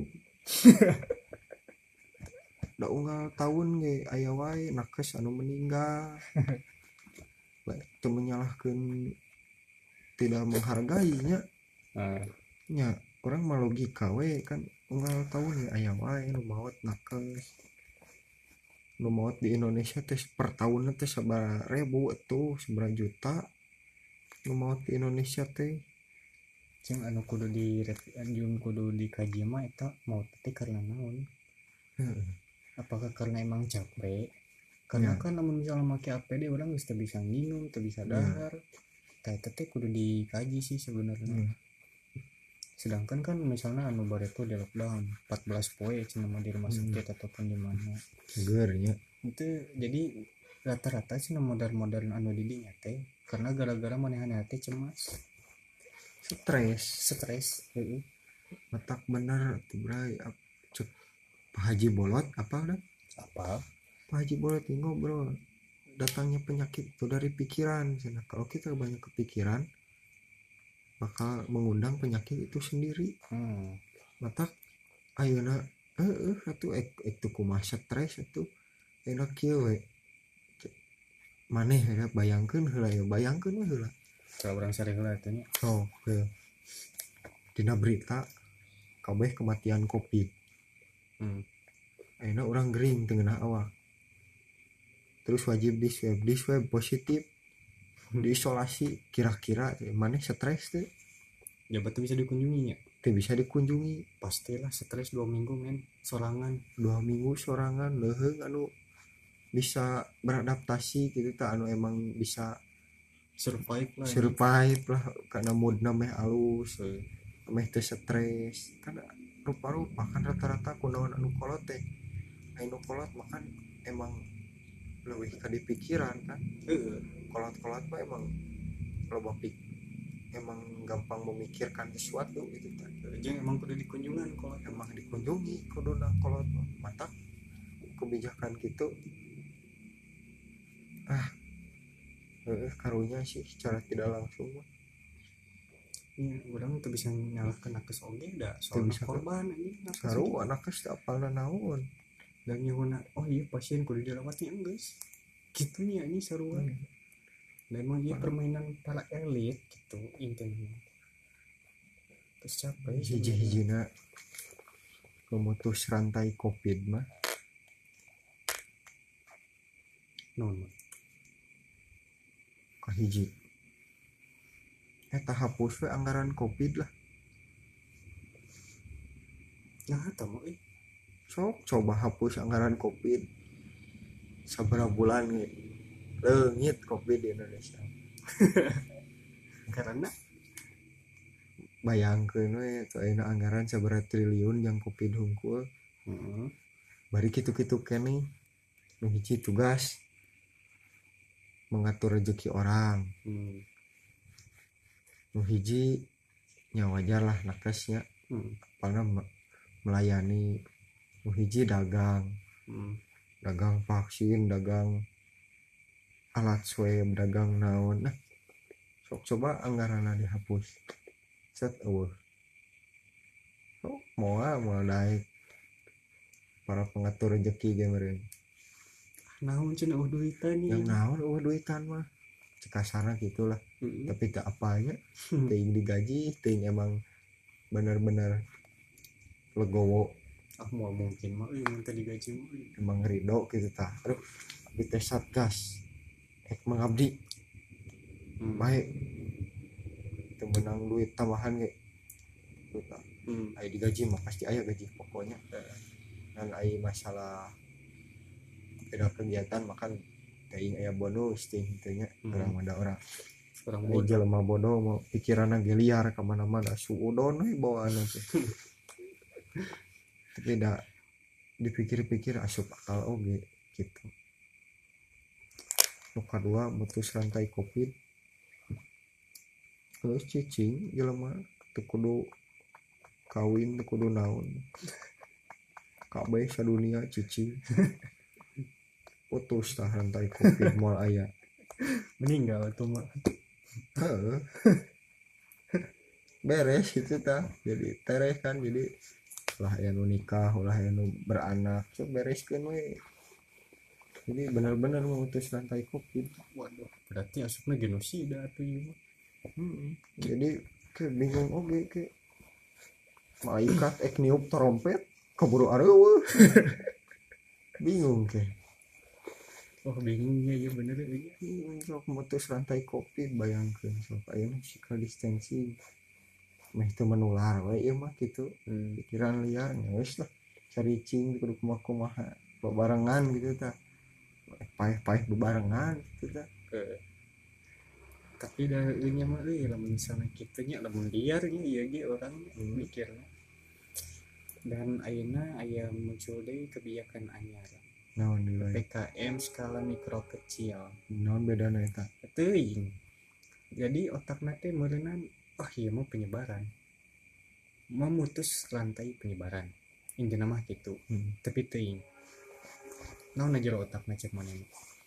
Da unggal tahun ge aya wae nakes anu meninggal. Teu menyalahkeun tidak menghargainya. Nah, Nya orang mah logika we kan unggal tahun ge aya wae nu maot nakes. Nu maot di Indonesia teh per tahunna teh sabaraha ribu atuh sabaraha juta nu maot di Indonesia teh. jeung anu kudu di anjung kudu dikaji mah eta mau teh karena naon? Heeh. Apakah karena emang capek? Karena Ya. kan namun misalnya make A P D orang geus teu bisa nginum, teu bisa dahar. Tah eta teh kudu dikaji sih sebenarnya. Hmm. Sedangkan kan misalnya anu bare tuh di lockdown empat belas poe cenah mah di rumah Hmm. sakit ataupun di mana. Seger nya. Itu jadi rata-rata sih modern-modern anu di dinya teh karena gara-gara manehna teh cemas, Stres. stres. Heeh. Matak bener atuh bray. Cek Pak Haji Bolot apa udah? Apa? Pak Haji Bolot ini ngobrol datangnya penyakit itu dari pikiran. Nah, kalau kita banyak kepikiran bakal mengundang penyakit itu sendiri. Hmm. Matak ayeuna heeh atuh ek ek tuh kumaha stres atuh enak kieu we. Maneh ya bayangkeun heula ya bayangkeun we heula. Kalau orang sare heula teh nya. Oh, heeh. Dina berita kabeh kematian Covid. Hmm. Ayeuna orang gering teu ngeunah awak. Terus wajib di swab, di swab positif. Diisolasi kira-kira maneh stres teh Jabat tuh bisa dikunjungi ya? teu bisa dikunjungi. Pastilah stres dua minggu men, sorangan. Dua minggu sorangan leuheung anu bisa beradaptasi gitu tah anu emang bisa Survive lah. survive lah karena moodna meh alus, meh teu stres. Kan rupa-rupa kan rata-rata kunaon anu kolot teh. Anu kolot mah kan emang leuwih ka dipikiran kan. Heeh. Kolot-kolot mah emang loba pik emang gampang memikirkan sesuatu gitu kan. Jeung emang kudu dikunjungan kalau Emang dikunjungi kuduna kolot mah. Matak kebijakan gitu ah eh karunya sih secara tidak langsung mah. ya, orang tuh bisa nyalahkan nakes oge da soal bisa korban ini nakes saru nakes teh apalna naon dan nyuhuna oh iya pasien kudu dirawatnya geus gitunya ini sarua. Hmm. Dan emang iya permainan para elit gitu intinya. Terus capek hiji-hijina memutus rantai Covid mah non kahiji eta hapus we anggaran Covid lah. nah eta mah eh Sok coba hapus anggaran Covid sabaraha bulan ge leungit Covid di Indonesia. karena Bayangkeun we teu ayeuna anggaran sabaraha triliun yang Covid hungkul. heeh Bari kitu-kitu keneh nu hiji tugas mengatur rezeki orang, hmm. nu hiji nya wajar lah nakesnya hmm. apalna melayani, nu hiji dagang hmm. dagang vaksin, dagang alat swab, dagang naon. Nah sok coba anggaranna dihapus set eueuh sok moal moal daek para pengatur rezeki ge meureun. Naon cenah uh duitan Yang naon eueuh duitan mah kasarna gitulah. heeh Tapi tak apanya teuing digaji teuing emang bener-bener legowo ah mau mungkin mah euy mun teh digaji mah emang ridho gitu tah. Aduh abdi teh satgas ek mengabdi hmm. baik teu menang duit tambahan ge gitu tah. hmm. Aya digaji mah pasti aya gaji pokoknya. dan ai masalah beda kegiatan makan teuing aya bonus ting teunya orang Hmm. ada orang orang ai bodoh. jelema bodoh mau pikiranna ge liar ka mana-mana suudon we bawaanna teh tapi da dipikir-pikir asup akal oge gitu. Nu kadua mutus rantai covid terus cicing jelema teu kudu kawin teu kudu naon kabeh sadunia cicing putus tah rantai covid moal aya Meninggal tuh mah. heeh beres itu tah jadi tereh kan jadi ulah aya nu nikah ulah aya nu beranak so bereskeun we jadi benar-benar memutus rantai covid. Waduh, berarti asupna genosida tuh ieu mah. Hmm. Jadi ke bingung oge ke malaikat ek niup trompet keburu areueuh bingung ke Oh bingungnya ya bener ya. bingung sok memutus rantai covid bayangkeun sok ayeuna physical distancing meh teu menular we ieu mah kitu Hmm. pikiran liar geus lah caricing kudu kumaha-kumaha bebarengan gitu tah paeh-paeh bebarengan gitu tah. Eh. Tapi dah nya mah euy lamun misalnya kitu nya lamun liar nya ieu ge orang Hmm. mikirna. Dan ayeuna aya muncul deui kebijakan anyar. Naon nilai P K M skala mikro kecil. naon bedana eta Teuing. Jadi otakna teh meureunna oh ieu mah penyebaran. Memutus rantai penyebaran. Intina mah kitu. hmm. Tapi teuing. Naon jero otakna cek maneh.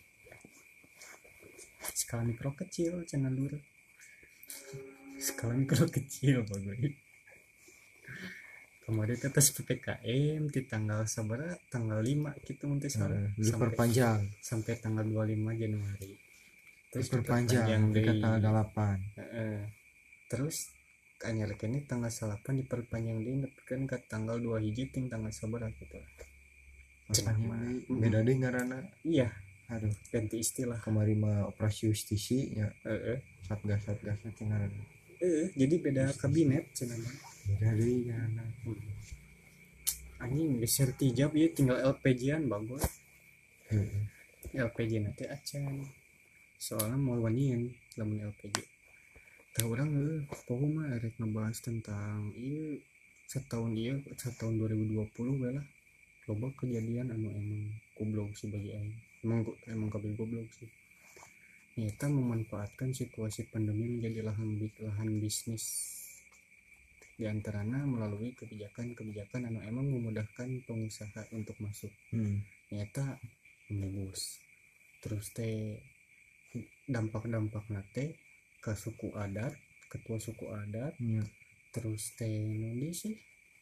Skala mikro kecil cenah lur. Skala mikro kecil bagus. Kemudian atas P P K M di tanggal sabaraha tanggal lima gitu mun teu salah Uh, sampai diperpanjang sampai tanggal dua puluh lima Januari. Terus diperpanjang ke deui. tanggal delapan Heeh. Terus anyar kene tanggal salapan diperpanjang deui nepikeun ka tanggal dua hiji ting tanggal sabaraha gitu. Cenah mah. beda deui ngaranna Iya, aduh ganti istilah. kemari mah operasi justisi nya Heeh. satgas satgas teh ngaranna Heeh, jadi beda kabinet cenah mah. beda deui ngaranna Anjing geser tijab ieu tinggal L P G-an bagus. heeh L P G nanti acan. Soalnya mau wanian lamun L P G. Tah urang heuh, poho mah rek ngebahas tentang ieu setahun ieu setahun dua ribu dua puluh we lah. Loba kejadian anu emang goblok sih bagi aing. Emang emang kabeh goblok sih. Nyata memanfaatkan situasi pandemi menjadi lahan lahan bisnis. Di antaranya melalui kebijakan-kebijakan anu emang memudahkan pengusaha untuk masuk. hmm. Nyata omnibus. Terus teh dampak-dampak nate ke suku adat, ketua suku adat, ya. terus teh nundi sih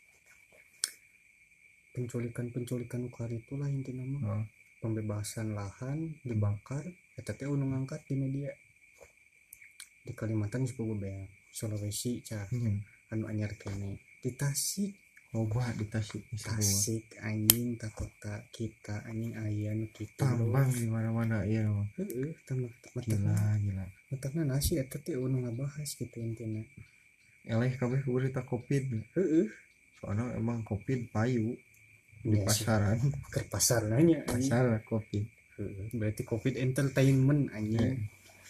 penculikan-penculikan ukar itulah intinya mah. Oh. Pembebasan lahan dibakar eta teh anu ngangkat di media di Kalimantan sepupu beak Sulawesi cah Hmm. anu anyar kene di Tasik Loba di Tasik Tasik anjing tak kota kita anjing aya nu kitu tambang di mana-mana ieu mah heeh tambah gila gila matakna nasi eta teh anu ngabahas gitu intina eleh kabeh berita covid heeh soalnya emang covid payu di ya, pasaran ke pasar nanya pasar covid heeh berarti covid entertainment anjing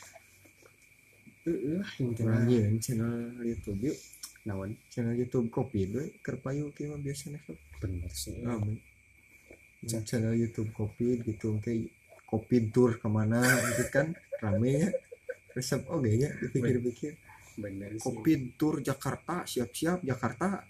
heeh intina anjing channel YouTube yuk naon channel YouTube covid we keur payu kieu mah biasana sok bener sih rame channel YouTube covid gitu kayak covid tour kemana gitu kan rame ya resep oge nya dipikir-pikir bener sih covid tour Jakarta siap-siap Jakarta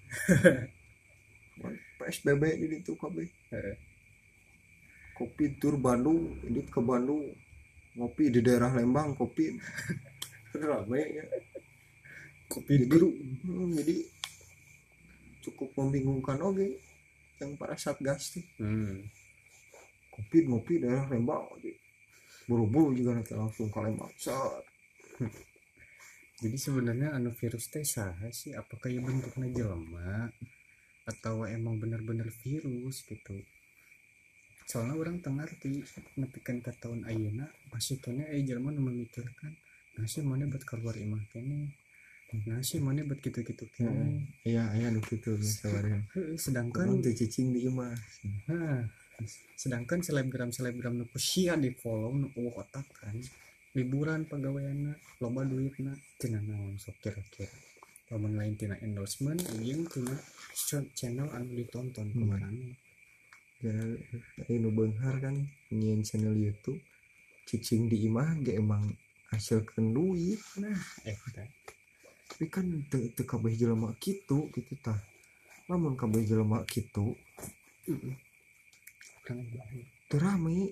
P S B B di ditu kabeh heeh covid tour Bandung ini ke Bandung ngopi di daerah Lembang covid rame ya covid jadi, hmm, jadi cukup membingungkan oge yang para satgas tuh hmm. covid ngopi daerah Lembang buru-buru juga nanti langsung ke Lembang set. Jadi sebenarnya anu virus teh saha sih apakah ya bentuknya jelema atau emang benar-benar virus gitu soalnya orang tengah arti nepikan ke tahun ayeuna masih kene eh jelema nu memikirkan nasi mana buat keluar imah kene nah sih mana buat gitu-gitu Heeh. Iya aya nu kitu sabareng. Heeh, Kan sedangkan teu cicing di imah. nah, sedangkan selebgram selebgram nu sia di follow nu eueuh otak kan liburan pagaweana loba duitna cenah naon sok kira-kira lamun lain tina endorsement jeung tina channel anu ditonton Hmm. kumarana. Ya anu beunghar kan nyieun channel YouTube cicing di imah ge emang hasilkeun duit. Nah eta Tapi kan teu teu kabeh jelema kitu gitu tah. Lamun kabeh jelema kitu heeh urang bae teu rame.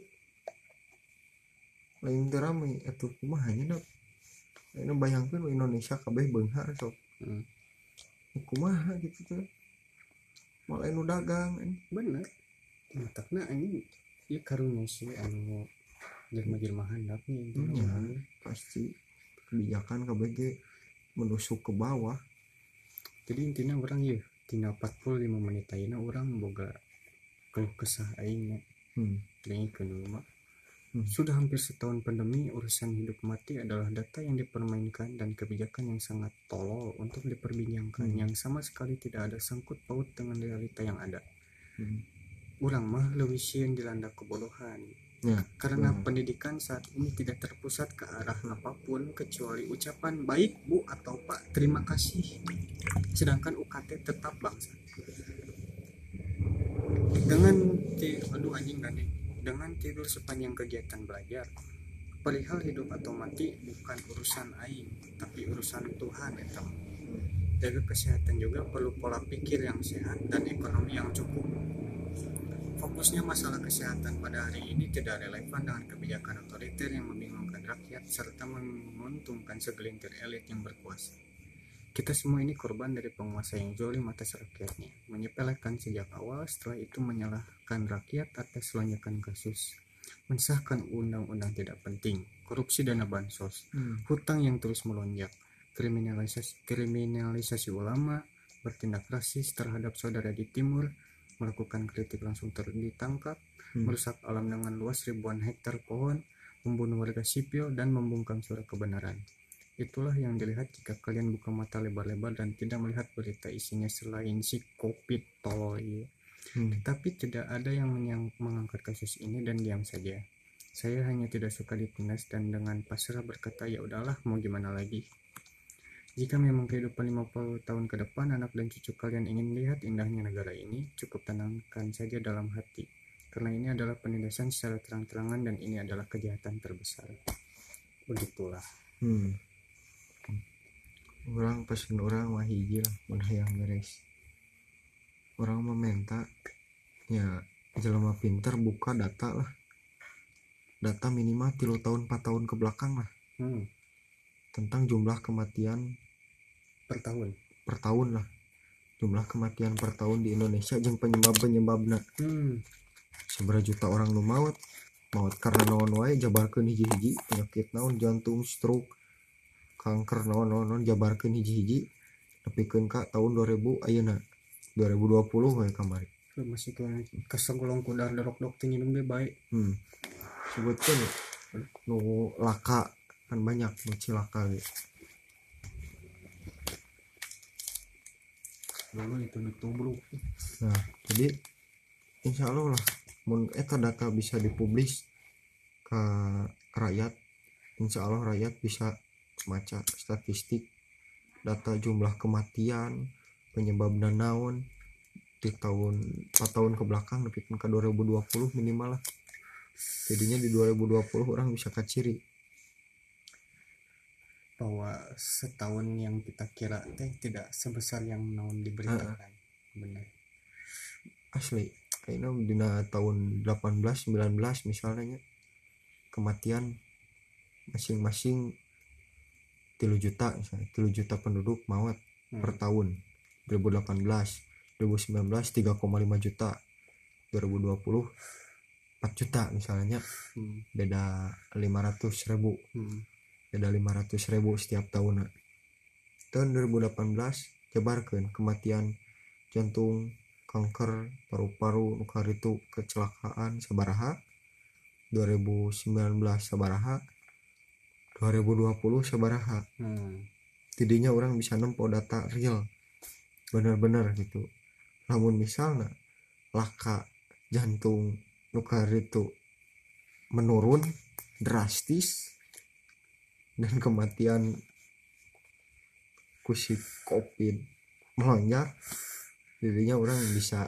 Lain teu rame atuh kumaha nya anu bayangkeun Indonesia kabeh beunghar sok. heeh Kumaha gitu tuh. Malah anu dagang anjing. bener matakna anjing ieu karunya sih anu jelema-jelema handap nih Ya, pasti kebijakan kabeh ge menusuk ke bawah. jadi intinya orang ya tina empat puluh lima menit ayeuna orang boga keluh kesah aing Hmm. dengan kedua Hmm. sudah hampir setahun pandemi urusan hidup mati adalah data yang dipermainkan dan kebijakan yang sangat tolol untuk diperbincangkan Hmm. yang sama sekali tidak ada sangkut paut dengan realita yang ada. Hmm. Urang mah leuwih sieun dilanda kebodohan Ya, karena benar. pendidikan saat ini tidak terpusat ke arah apapun kecuali ucapan baik bu atau pak terima kasih, sedangkan U K T tetap bangsa dengan ti- aduh anjing gandeng dengan tidur sepanjang kegiatan belajar. Perihal hidup atau mati bukan urusan aing tapi urusan Tuhan eta. Jaga kesehatan juga perlu pola pikir yang sehat dan ekonomi yang cukup. Fokusnya masalah kesehatan pada hari ini tidak relevan dengan kebijakan otoriter yang membingungkan rakyat serta menguntungkan segelintir elit yang berkuasa. Kita semua ini korban dari penguasa yang zalim atas rakyatnya, menyepelekan sejak awal, setelah itu menyalahkan rakyat atas lonjakan kasus, mensahkan undang-undang tidak penting, korupsi dana bansos, Hmm. hutang yang terus melonjak, kriminalisasi, kriminalisasi ulama, bertindak rasis terhadap saudara di timur, melakukan kritik langsung ter- ditangkap, Hmm. merusak alam dengan luas ribuan hektar pohon, membunuh warga sipil, dan membungkam suara kebenaran. Itulah yang dilihat jika kalian buka mata lebar-lebar dan tidak melihat berita isinya selain si COVID tolol ini. Hmm. Tapi tidak ada yang menyang- mengangkat kasus ini dan diam saja. Saya hanya tidak suka ditindas dan dengan pasrah berkata ya udahlah mau gimana lagi. Jika memang kehidupan lima puluh tahun ke depan anak dan cucu kalian ingin lihat indahnya negara ini, cukup tenangkan saja dalam hati. Karena ini adalah penindasan secara terang-terangan dan ini adalah kejahatan terbesar. Begitulah. Hmm. Orang pesen orang mah hiji lah mun hayang beres. Orang meminta ya jelema pinter buka data lah. Data minimal tilu tahun empat tahun ke belakang lah Hmm, tentang jumlah kematian per tahun. per tahun lah. Jumlah kematian per tahun di Indonesia jeung penyebab-penyebabna. Hmm, Seberapa juta orang nu maut? Maut karena naon wae jabarkeun hiji-hiji penyakit naon jantung, stroke, kanker naon-naon jabarkeun hiji-hiji nepikeun ka tahun dua ribu ayeuna dua ribu dua puluh we kamari. lu masih ke kesegolong kudar dorok-dorok tinggi nembe baik. Hmm. Sebutkeun nu laka kan banyak nu cilaka ge. Dulu itu nutubruk. Nah, jadi insya Allah lah mun eta data bisa dipublis ke rakyat, insya Allah rakyat bisa maca statistik data jumlah kematian penyebabna naon di tahun empat tahun ke belakang nepikeun ke dua ribu dua puluh minimal lah. Jadinya di dua ribu dua puluh orang bisa kaciri Bahwa setahun yang kita kira teh tidak sebesar yang naon diberitakan. Benar. asli kayaknya dina tahun delapan belas sembilan belas misalnya kematian masing-masing tilu juta misalnya tilu juta penduduk maut Hmm. per tahun. Dua ribu delapan belas dua ribu sembilan belas tiga koma lima juta, dua ribu dua puluh empat juta misalnya, Hmm. beda lima ratus ribu, Hmm. beda lima ratus ribu setiap tahun. Tahun dua ribu delapan belas jabarkeun kematian jantung, kanker, paru-paru, nu karitu kecelakaan sabaraha, dua ribu sembilan belas sabaraha, dua ribu dua puluh sabaraha. Hmm. tidinya orang bisa nempo data real bener-bener gitu. Namun misalnya laka jantung nukar itu menurun drastis dan kematian kusik covid melonjak, jadinya orang bisa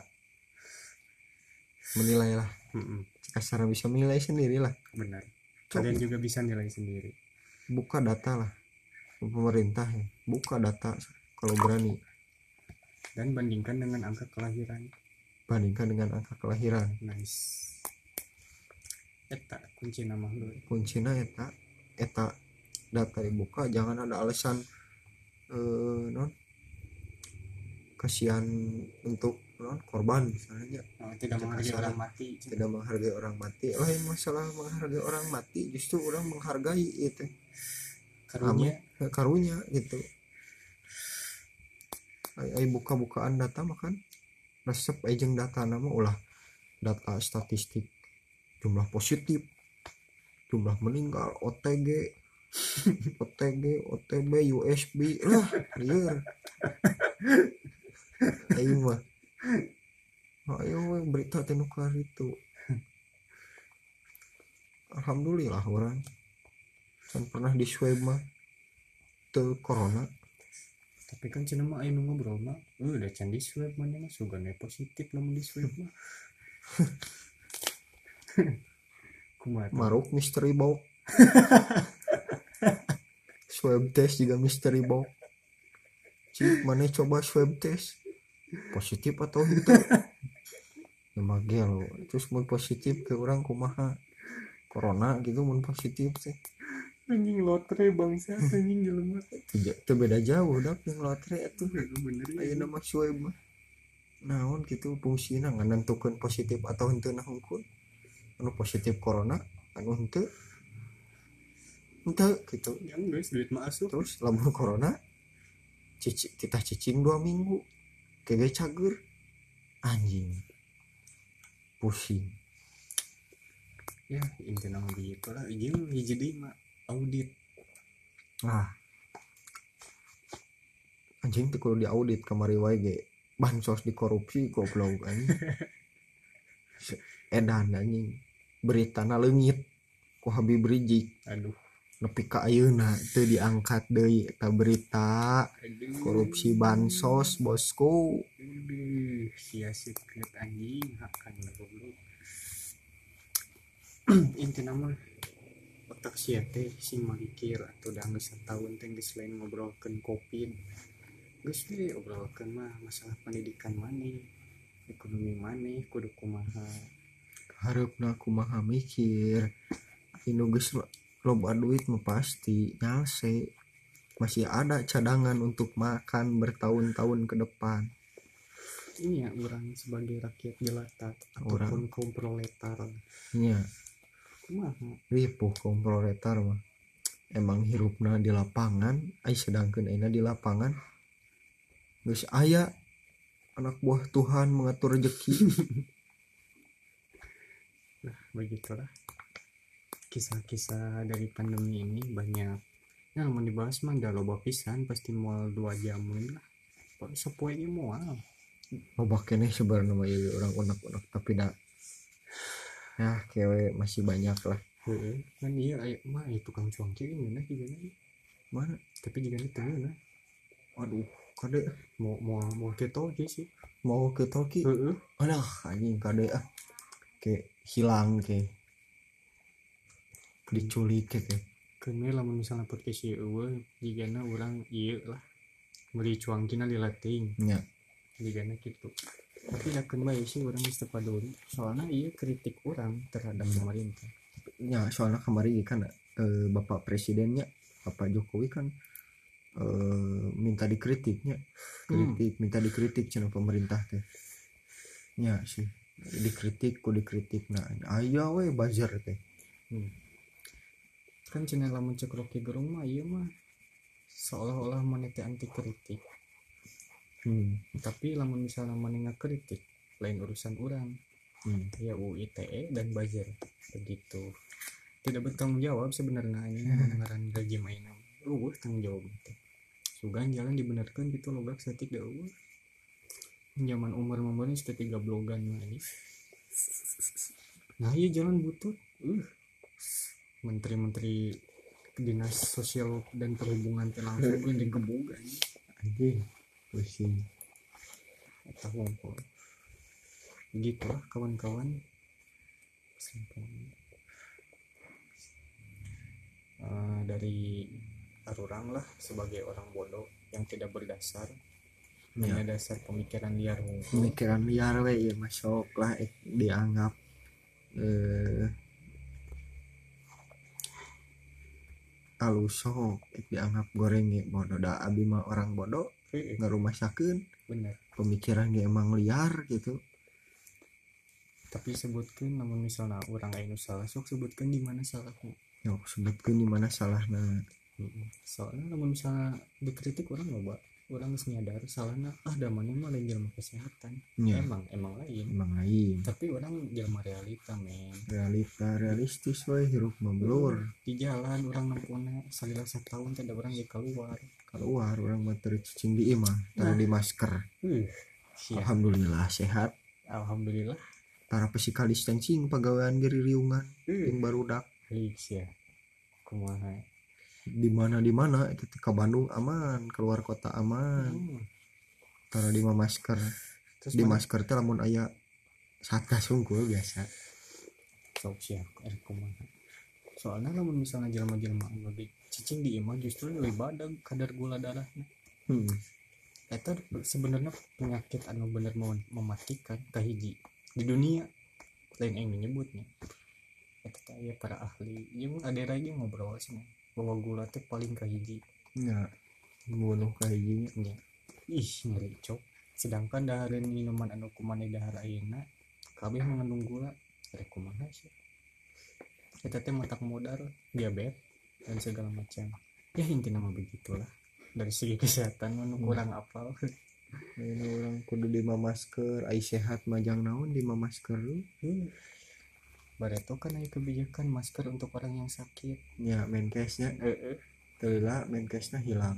menilai lah, Mm-mm. kasar bisa menilai sendiri lah. Benar. Coba Kalian juga bisa nilai sendiri. buka data lah, pemerintah ya buka data kalau berani, Dan bandingkan dengan angka kelahiran. bandingkan dengan angka kelahiran. Nice. Eta kunci nama lu. Kuncinya eta eta data dibuka, jangan ada alasan eh, non kasihan untuk non korban misalnya, Oh, tidak menghargai Kasar. orang mati. tidak menghargai orang mati. Lain masalah menghargai orang mati, justru orang menghargai itu Karunya. Amin, karunya gitu. Ay, ay buka-bukaan data makan resep ejeng data nama ulah data statistik jumlah positif, jumlah meninggal, O T G O T G O T B U S B lah liar ayo mah ayo we, berita tenukar itu. Alhamdulillah orang kan pernah di swab mah teu corona. Tapi kan cina mah ayo ngobrol mah uh, udah can di swab mana mah sugane positif namun di swab mah. Kumaha Maruk mystery box swab test juga mystery box. Cik mana coba swab test positif atau itu ya magel terus mau positif ke orang kumaha corona gitu mau positif sih anjing lotre bangsa anjing jelema. itu beda jauh dah yang lotre itu Bener ya. ayo nama swab mah naon gitu fungsina nganentukeun positif atau henteu nah hungkul anu positif corona anu henteu henteu gitu. Yang guys duit mah asup. Terus lamun corona cici, kita cicing dua minggu kege cager anjing pusing Ya intinya mah gitu lah. Jeung hiji deui mah audit. ah anjing teh kudu diaudit kamari wae ge bansos dikorupsi goblok anjing edan anjing beritana leungit ku Habib Rizik Aduh. nepi ka ayeuna teu diangkat deui eta berita Aduh. korupsi bansos bosku. Aduh, sia-sia banget anjing hakan lah goblok. Intinya mah otak sia teh sing mikir atau udah geus satahun teh geus lain ngobrolkeun covid. Geus we obrolkeun mah masalah pendidikan maneh, ekonomi maneh kudu kumaha. Hareupna kumaha mikir anu geus loba duit mah pasti nyalse masih ada cadangan untuk makan bertahun-tahun ke depan. Ini ya orang sebagai rakyat jelata Orang. ataupun kaum proletar. Nya Kumaha? ripuh kaum proletar mah emang hirupna di lapangan ai sedangkeun ayeuna di lapangan geus aya anak buah Tuhan mengatur rezeki. Nah begitulah kisah-kisah dari pandemi ini banyak. Nah mau dibahas mah gak loba pisan pasti mual dua jam lah. Pokoknya sepoe mual. Loba keneh sebenarnya mah ieu orang unek-unek tapi da ya kewe masih banyak lah. Heeh. Kan iya aya mah itu tukang cuangki gimana gimana. Mana Tapi juga itu nah. aduh kade Mau mau mau keto aja sih. mau ke Toki Heeh. alah anjing kade ah ke hilang ke diculik ke Kene lamun misalnya podcast ieu eueuh jigana urang ieu lah. Beli cuangkina dilatih. nya Jigana kitu. Tapi yakin bae sih urang geus teu paduli. Soalnya ieu kritik urang terhadap pemerintah. nya soalnya kemarin kan eh, Bapak Presidennya Bapak Jokowi kan eh, minta dikritiknya kritik minta dikritik cenah pemerintah teh nya sih dikritik ku dikritik nah aya we bazar teh Hmm. Kan cenah lamun cek Rocky Gerung mah ieu mah seolah-olah maneh teh anti kritik. hmm. Tapi lamun misalnya maneh ngakritik lain urusan urang. Hmm. Ya U I T E dan buzzer begitu. Tidak bertanggung jawab sebenarnya ini mendengaran rejim ayeuna. Uh, tanggung jawab itu. juga jalan dibenarkan gitu logak setik dah eueuh zaman umur membangun sudah tiga blogan lagi nah iya jalan butut uh menteri-menteri dinas sosial dan perhubungan teh langsung gue digebug anjing pusing atau ngumpul gitulah kawan-kawan. Uh, dari arurang lah sebagai orang bodoh yang tidak berdasar ya. Hanya dasar pemikiran liar ngumpul. Pemikiran liar we ya masuk lah eh, dianggap eh alusok eh, dianggap goreng ya bodoh da abi mah orang bodoh nggak rumah sakeun bener pemikiran dia emang liar gitu. Tapi sebutkan namun misalnya orang anu salah sok sebutkan di mana salahnya. Yo sebutkan di mana salahnya. Soalnya namun misalnya dikritik orang loba, orang geus nyadar salahnya ah da mana mah lain jelema kesehatan. Ya. Emang emang lain. Emang lain. Tapi orang jelema realita men. Realita realistis we hirup memblur. Di jalan orang nempuna salila satahun teh da urang ge keluar. Keluar orang mah teu cicing di imah, tara di masker. Uh, Alhamdulillah sehat. Alhamdulillah. Para physical distancing pegawaian geri riungan uh. yang barudak Liks ya kumaha di mana di mana itu ke Bandung aman keluar kota aman hmm. Tara di masker terus di mana? Masker teh lamun aya satgas unggul biasa sok siap er kumaha soalnya lamun misalnya jelema-jelema anu lagi cicing di imah justru lebih badag kadar gula darahnya hmm. Eta sebenarnya penyakit anu bener mematikan kahiji di dunia lain yang menyebutnya itu kayak para ahli yang ada lagi ngobrol sih bahwa gula teh paling kahiji ya bunuh kahijinya ya. Ih ngeri cok sedangkan dahareun minuman anu kumaneh dahar ayeuna kabeh mengandung gula rek kumaha sih eta teh matak modal diabetes dan segala macam ya intinya mah begitulah dari segi kesehatan anu kurang hmm. apal. Ini orang kudu di masker, ai sehat majang naon di masker lu. Hmm. Bareto kan aya kebijakan masker untuk orang yang sakit. Ya, menkesnya. Heeh. Teula menkesnya hilang.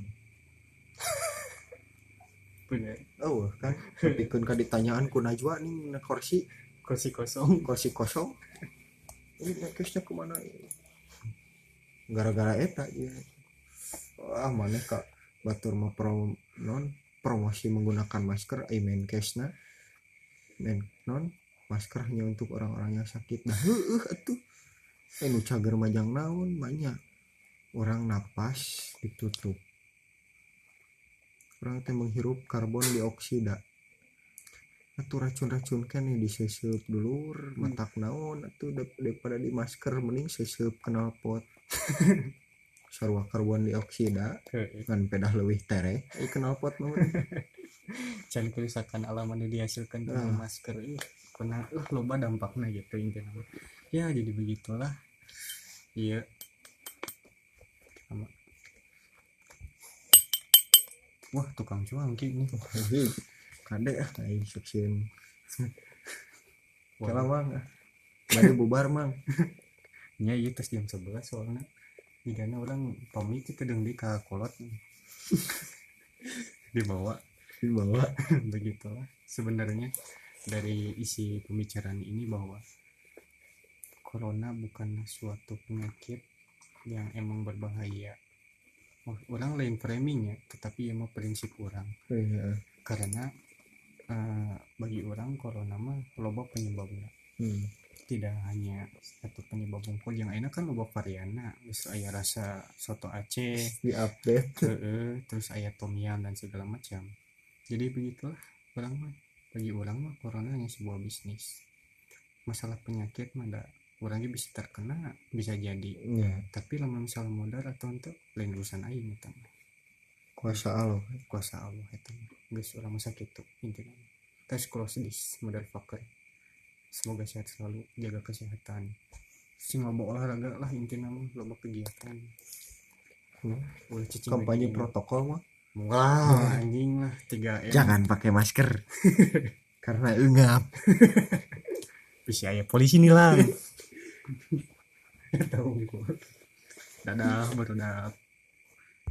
Bener. Oh, kan pikeun ka ditanyaan ku Najwa nih na kursi, kursi kosong, kursi kosong. Ini menkesnya ke mana? Gara-gara eta ya. Wah, maneh ka batur mah pro non promosi menggunakan masker ai menkesna men non masker hanya untuk orang-orang yang sakit nah heueuh atuh anu cager majang naon banyak orang napas ditutup orang teh menghirup karbon dioksida atuh racun-racun kan nih diseseup dulur matak naon atuh daripada di masker mending seseup knalpot sarua karbon dioksida ngan pedah leuwih tereh ai knalpot mah can kerusakan alam anu dihasilkan dari ah. masker ih pernah uh loba dampakna gitu intinya ya jadi begitulah iya sama wah tukang cuangki nih kade ah ai seksieun kala mang bade bubar mang nya ieu tes jam sebelas soalnya bidana orang pamit itu deng di ka kolot dibawa dibawa begitulah sebenarnya dari isi pembicaraan ini bahwa corona bukan suatu penyakit yang emang berbahaya. Orang lain framingnya tetapi emang prinsip orang iya. Karena uh, bagi orang corona mah loba penyebabnya hmm. Tidak hanya satu penyebab unggul yang enak kan loba variana terus aya rasa soto Aceh di update uh, terus aya tom yum dan segala macam jadi begitulah orang mah bagi orang mah corona hanya sebuah bisnis masalah penyakit mah da orangnya bisa terkena bisa jadi yeah. Tapi lama misalnya modal atau untuk lain urusan aing eta mah kuasa Allah kuasa Allah eta mah geus urang mah sakitu intina tes close this motherfucker. Semoga sehat selalu, jaga kesehatan. Sing loba olahraga lah intinya mah loba kegiatan. Hmm. Kampanye protokol mah. Wah, anjing lah tiga M. Jangan pakai masker. Karena engap. Bisa aya polisi nilang. Tahu gua. Dadah, baru dah.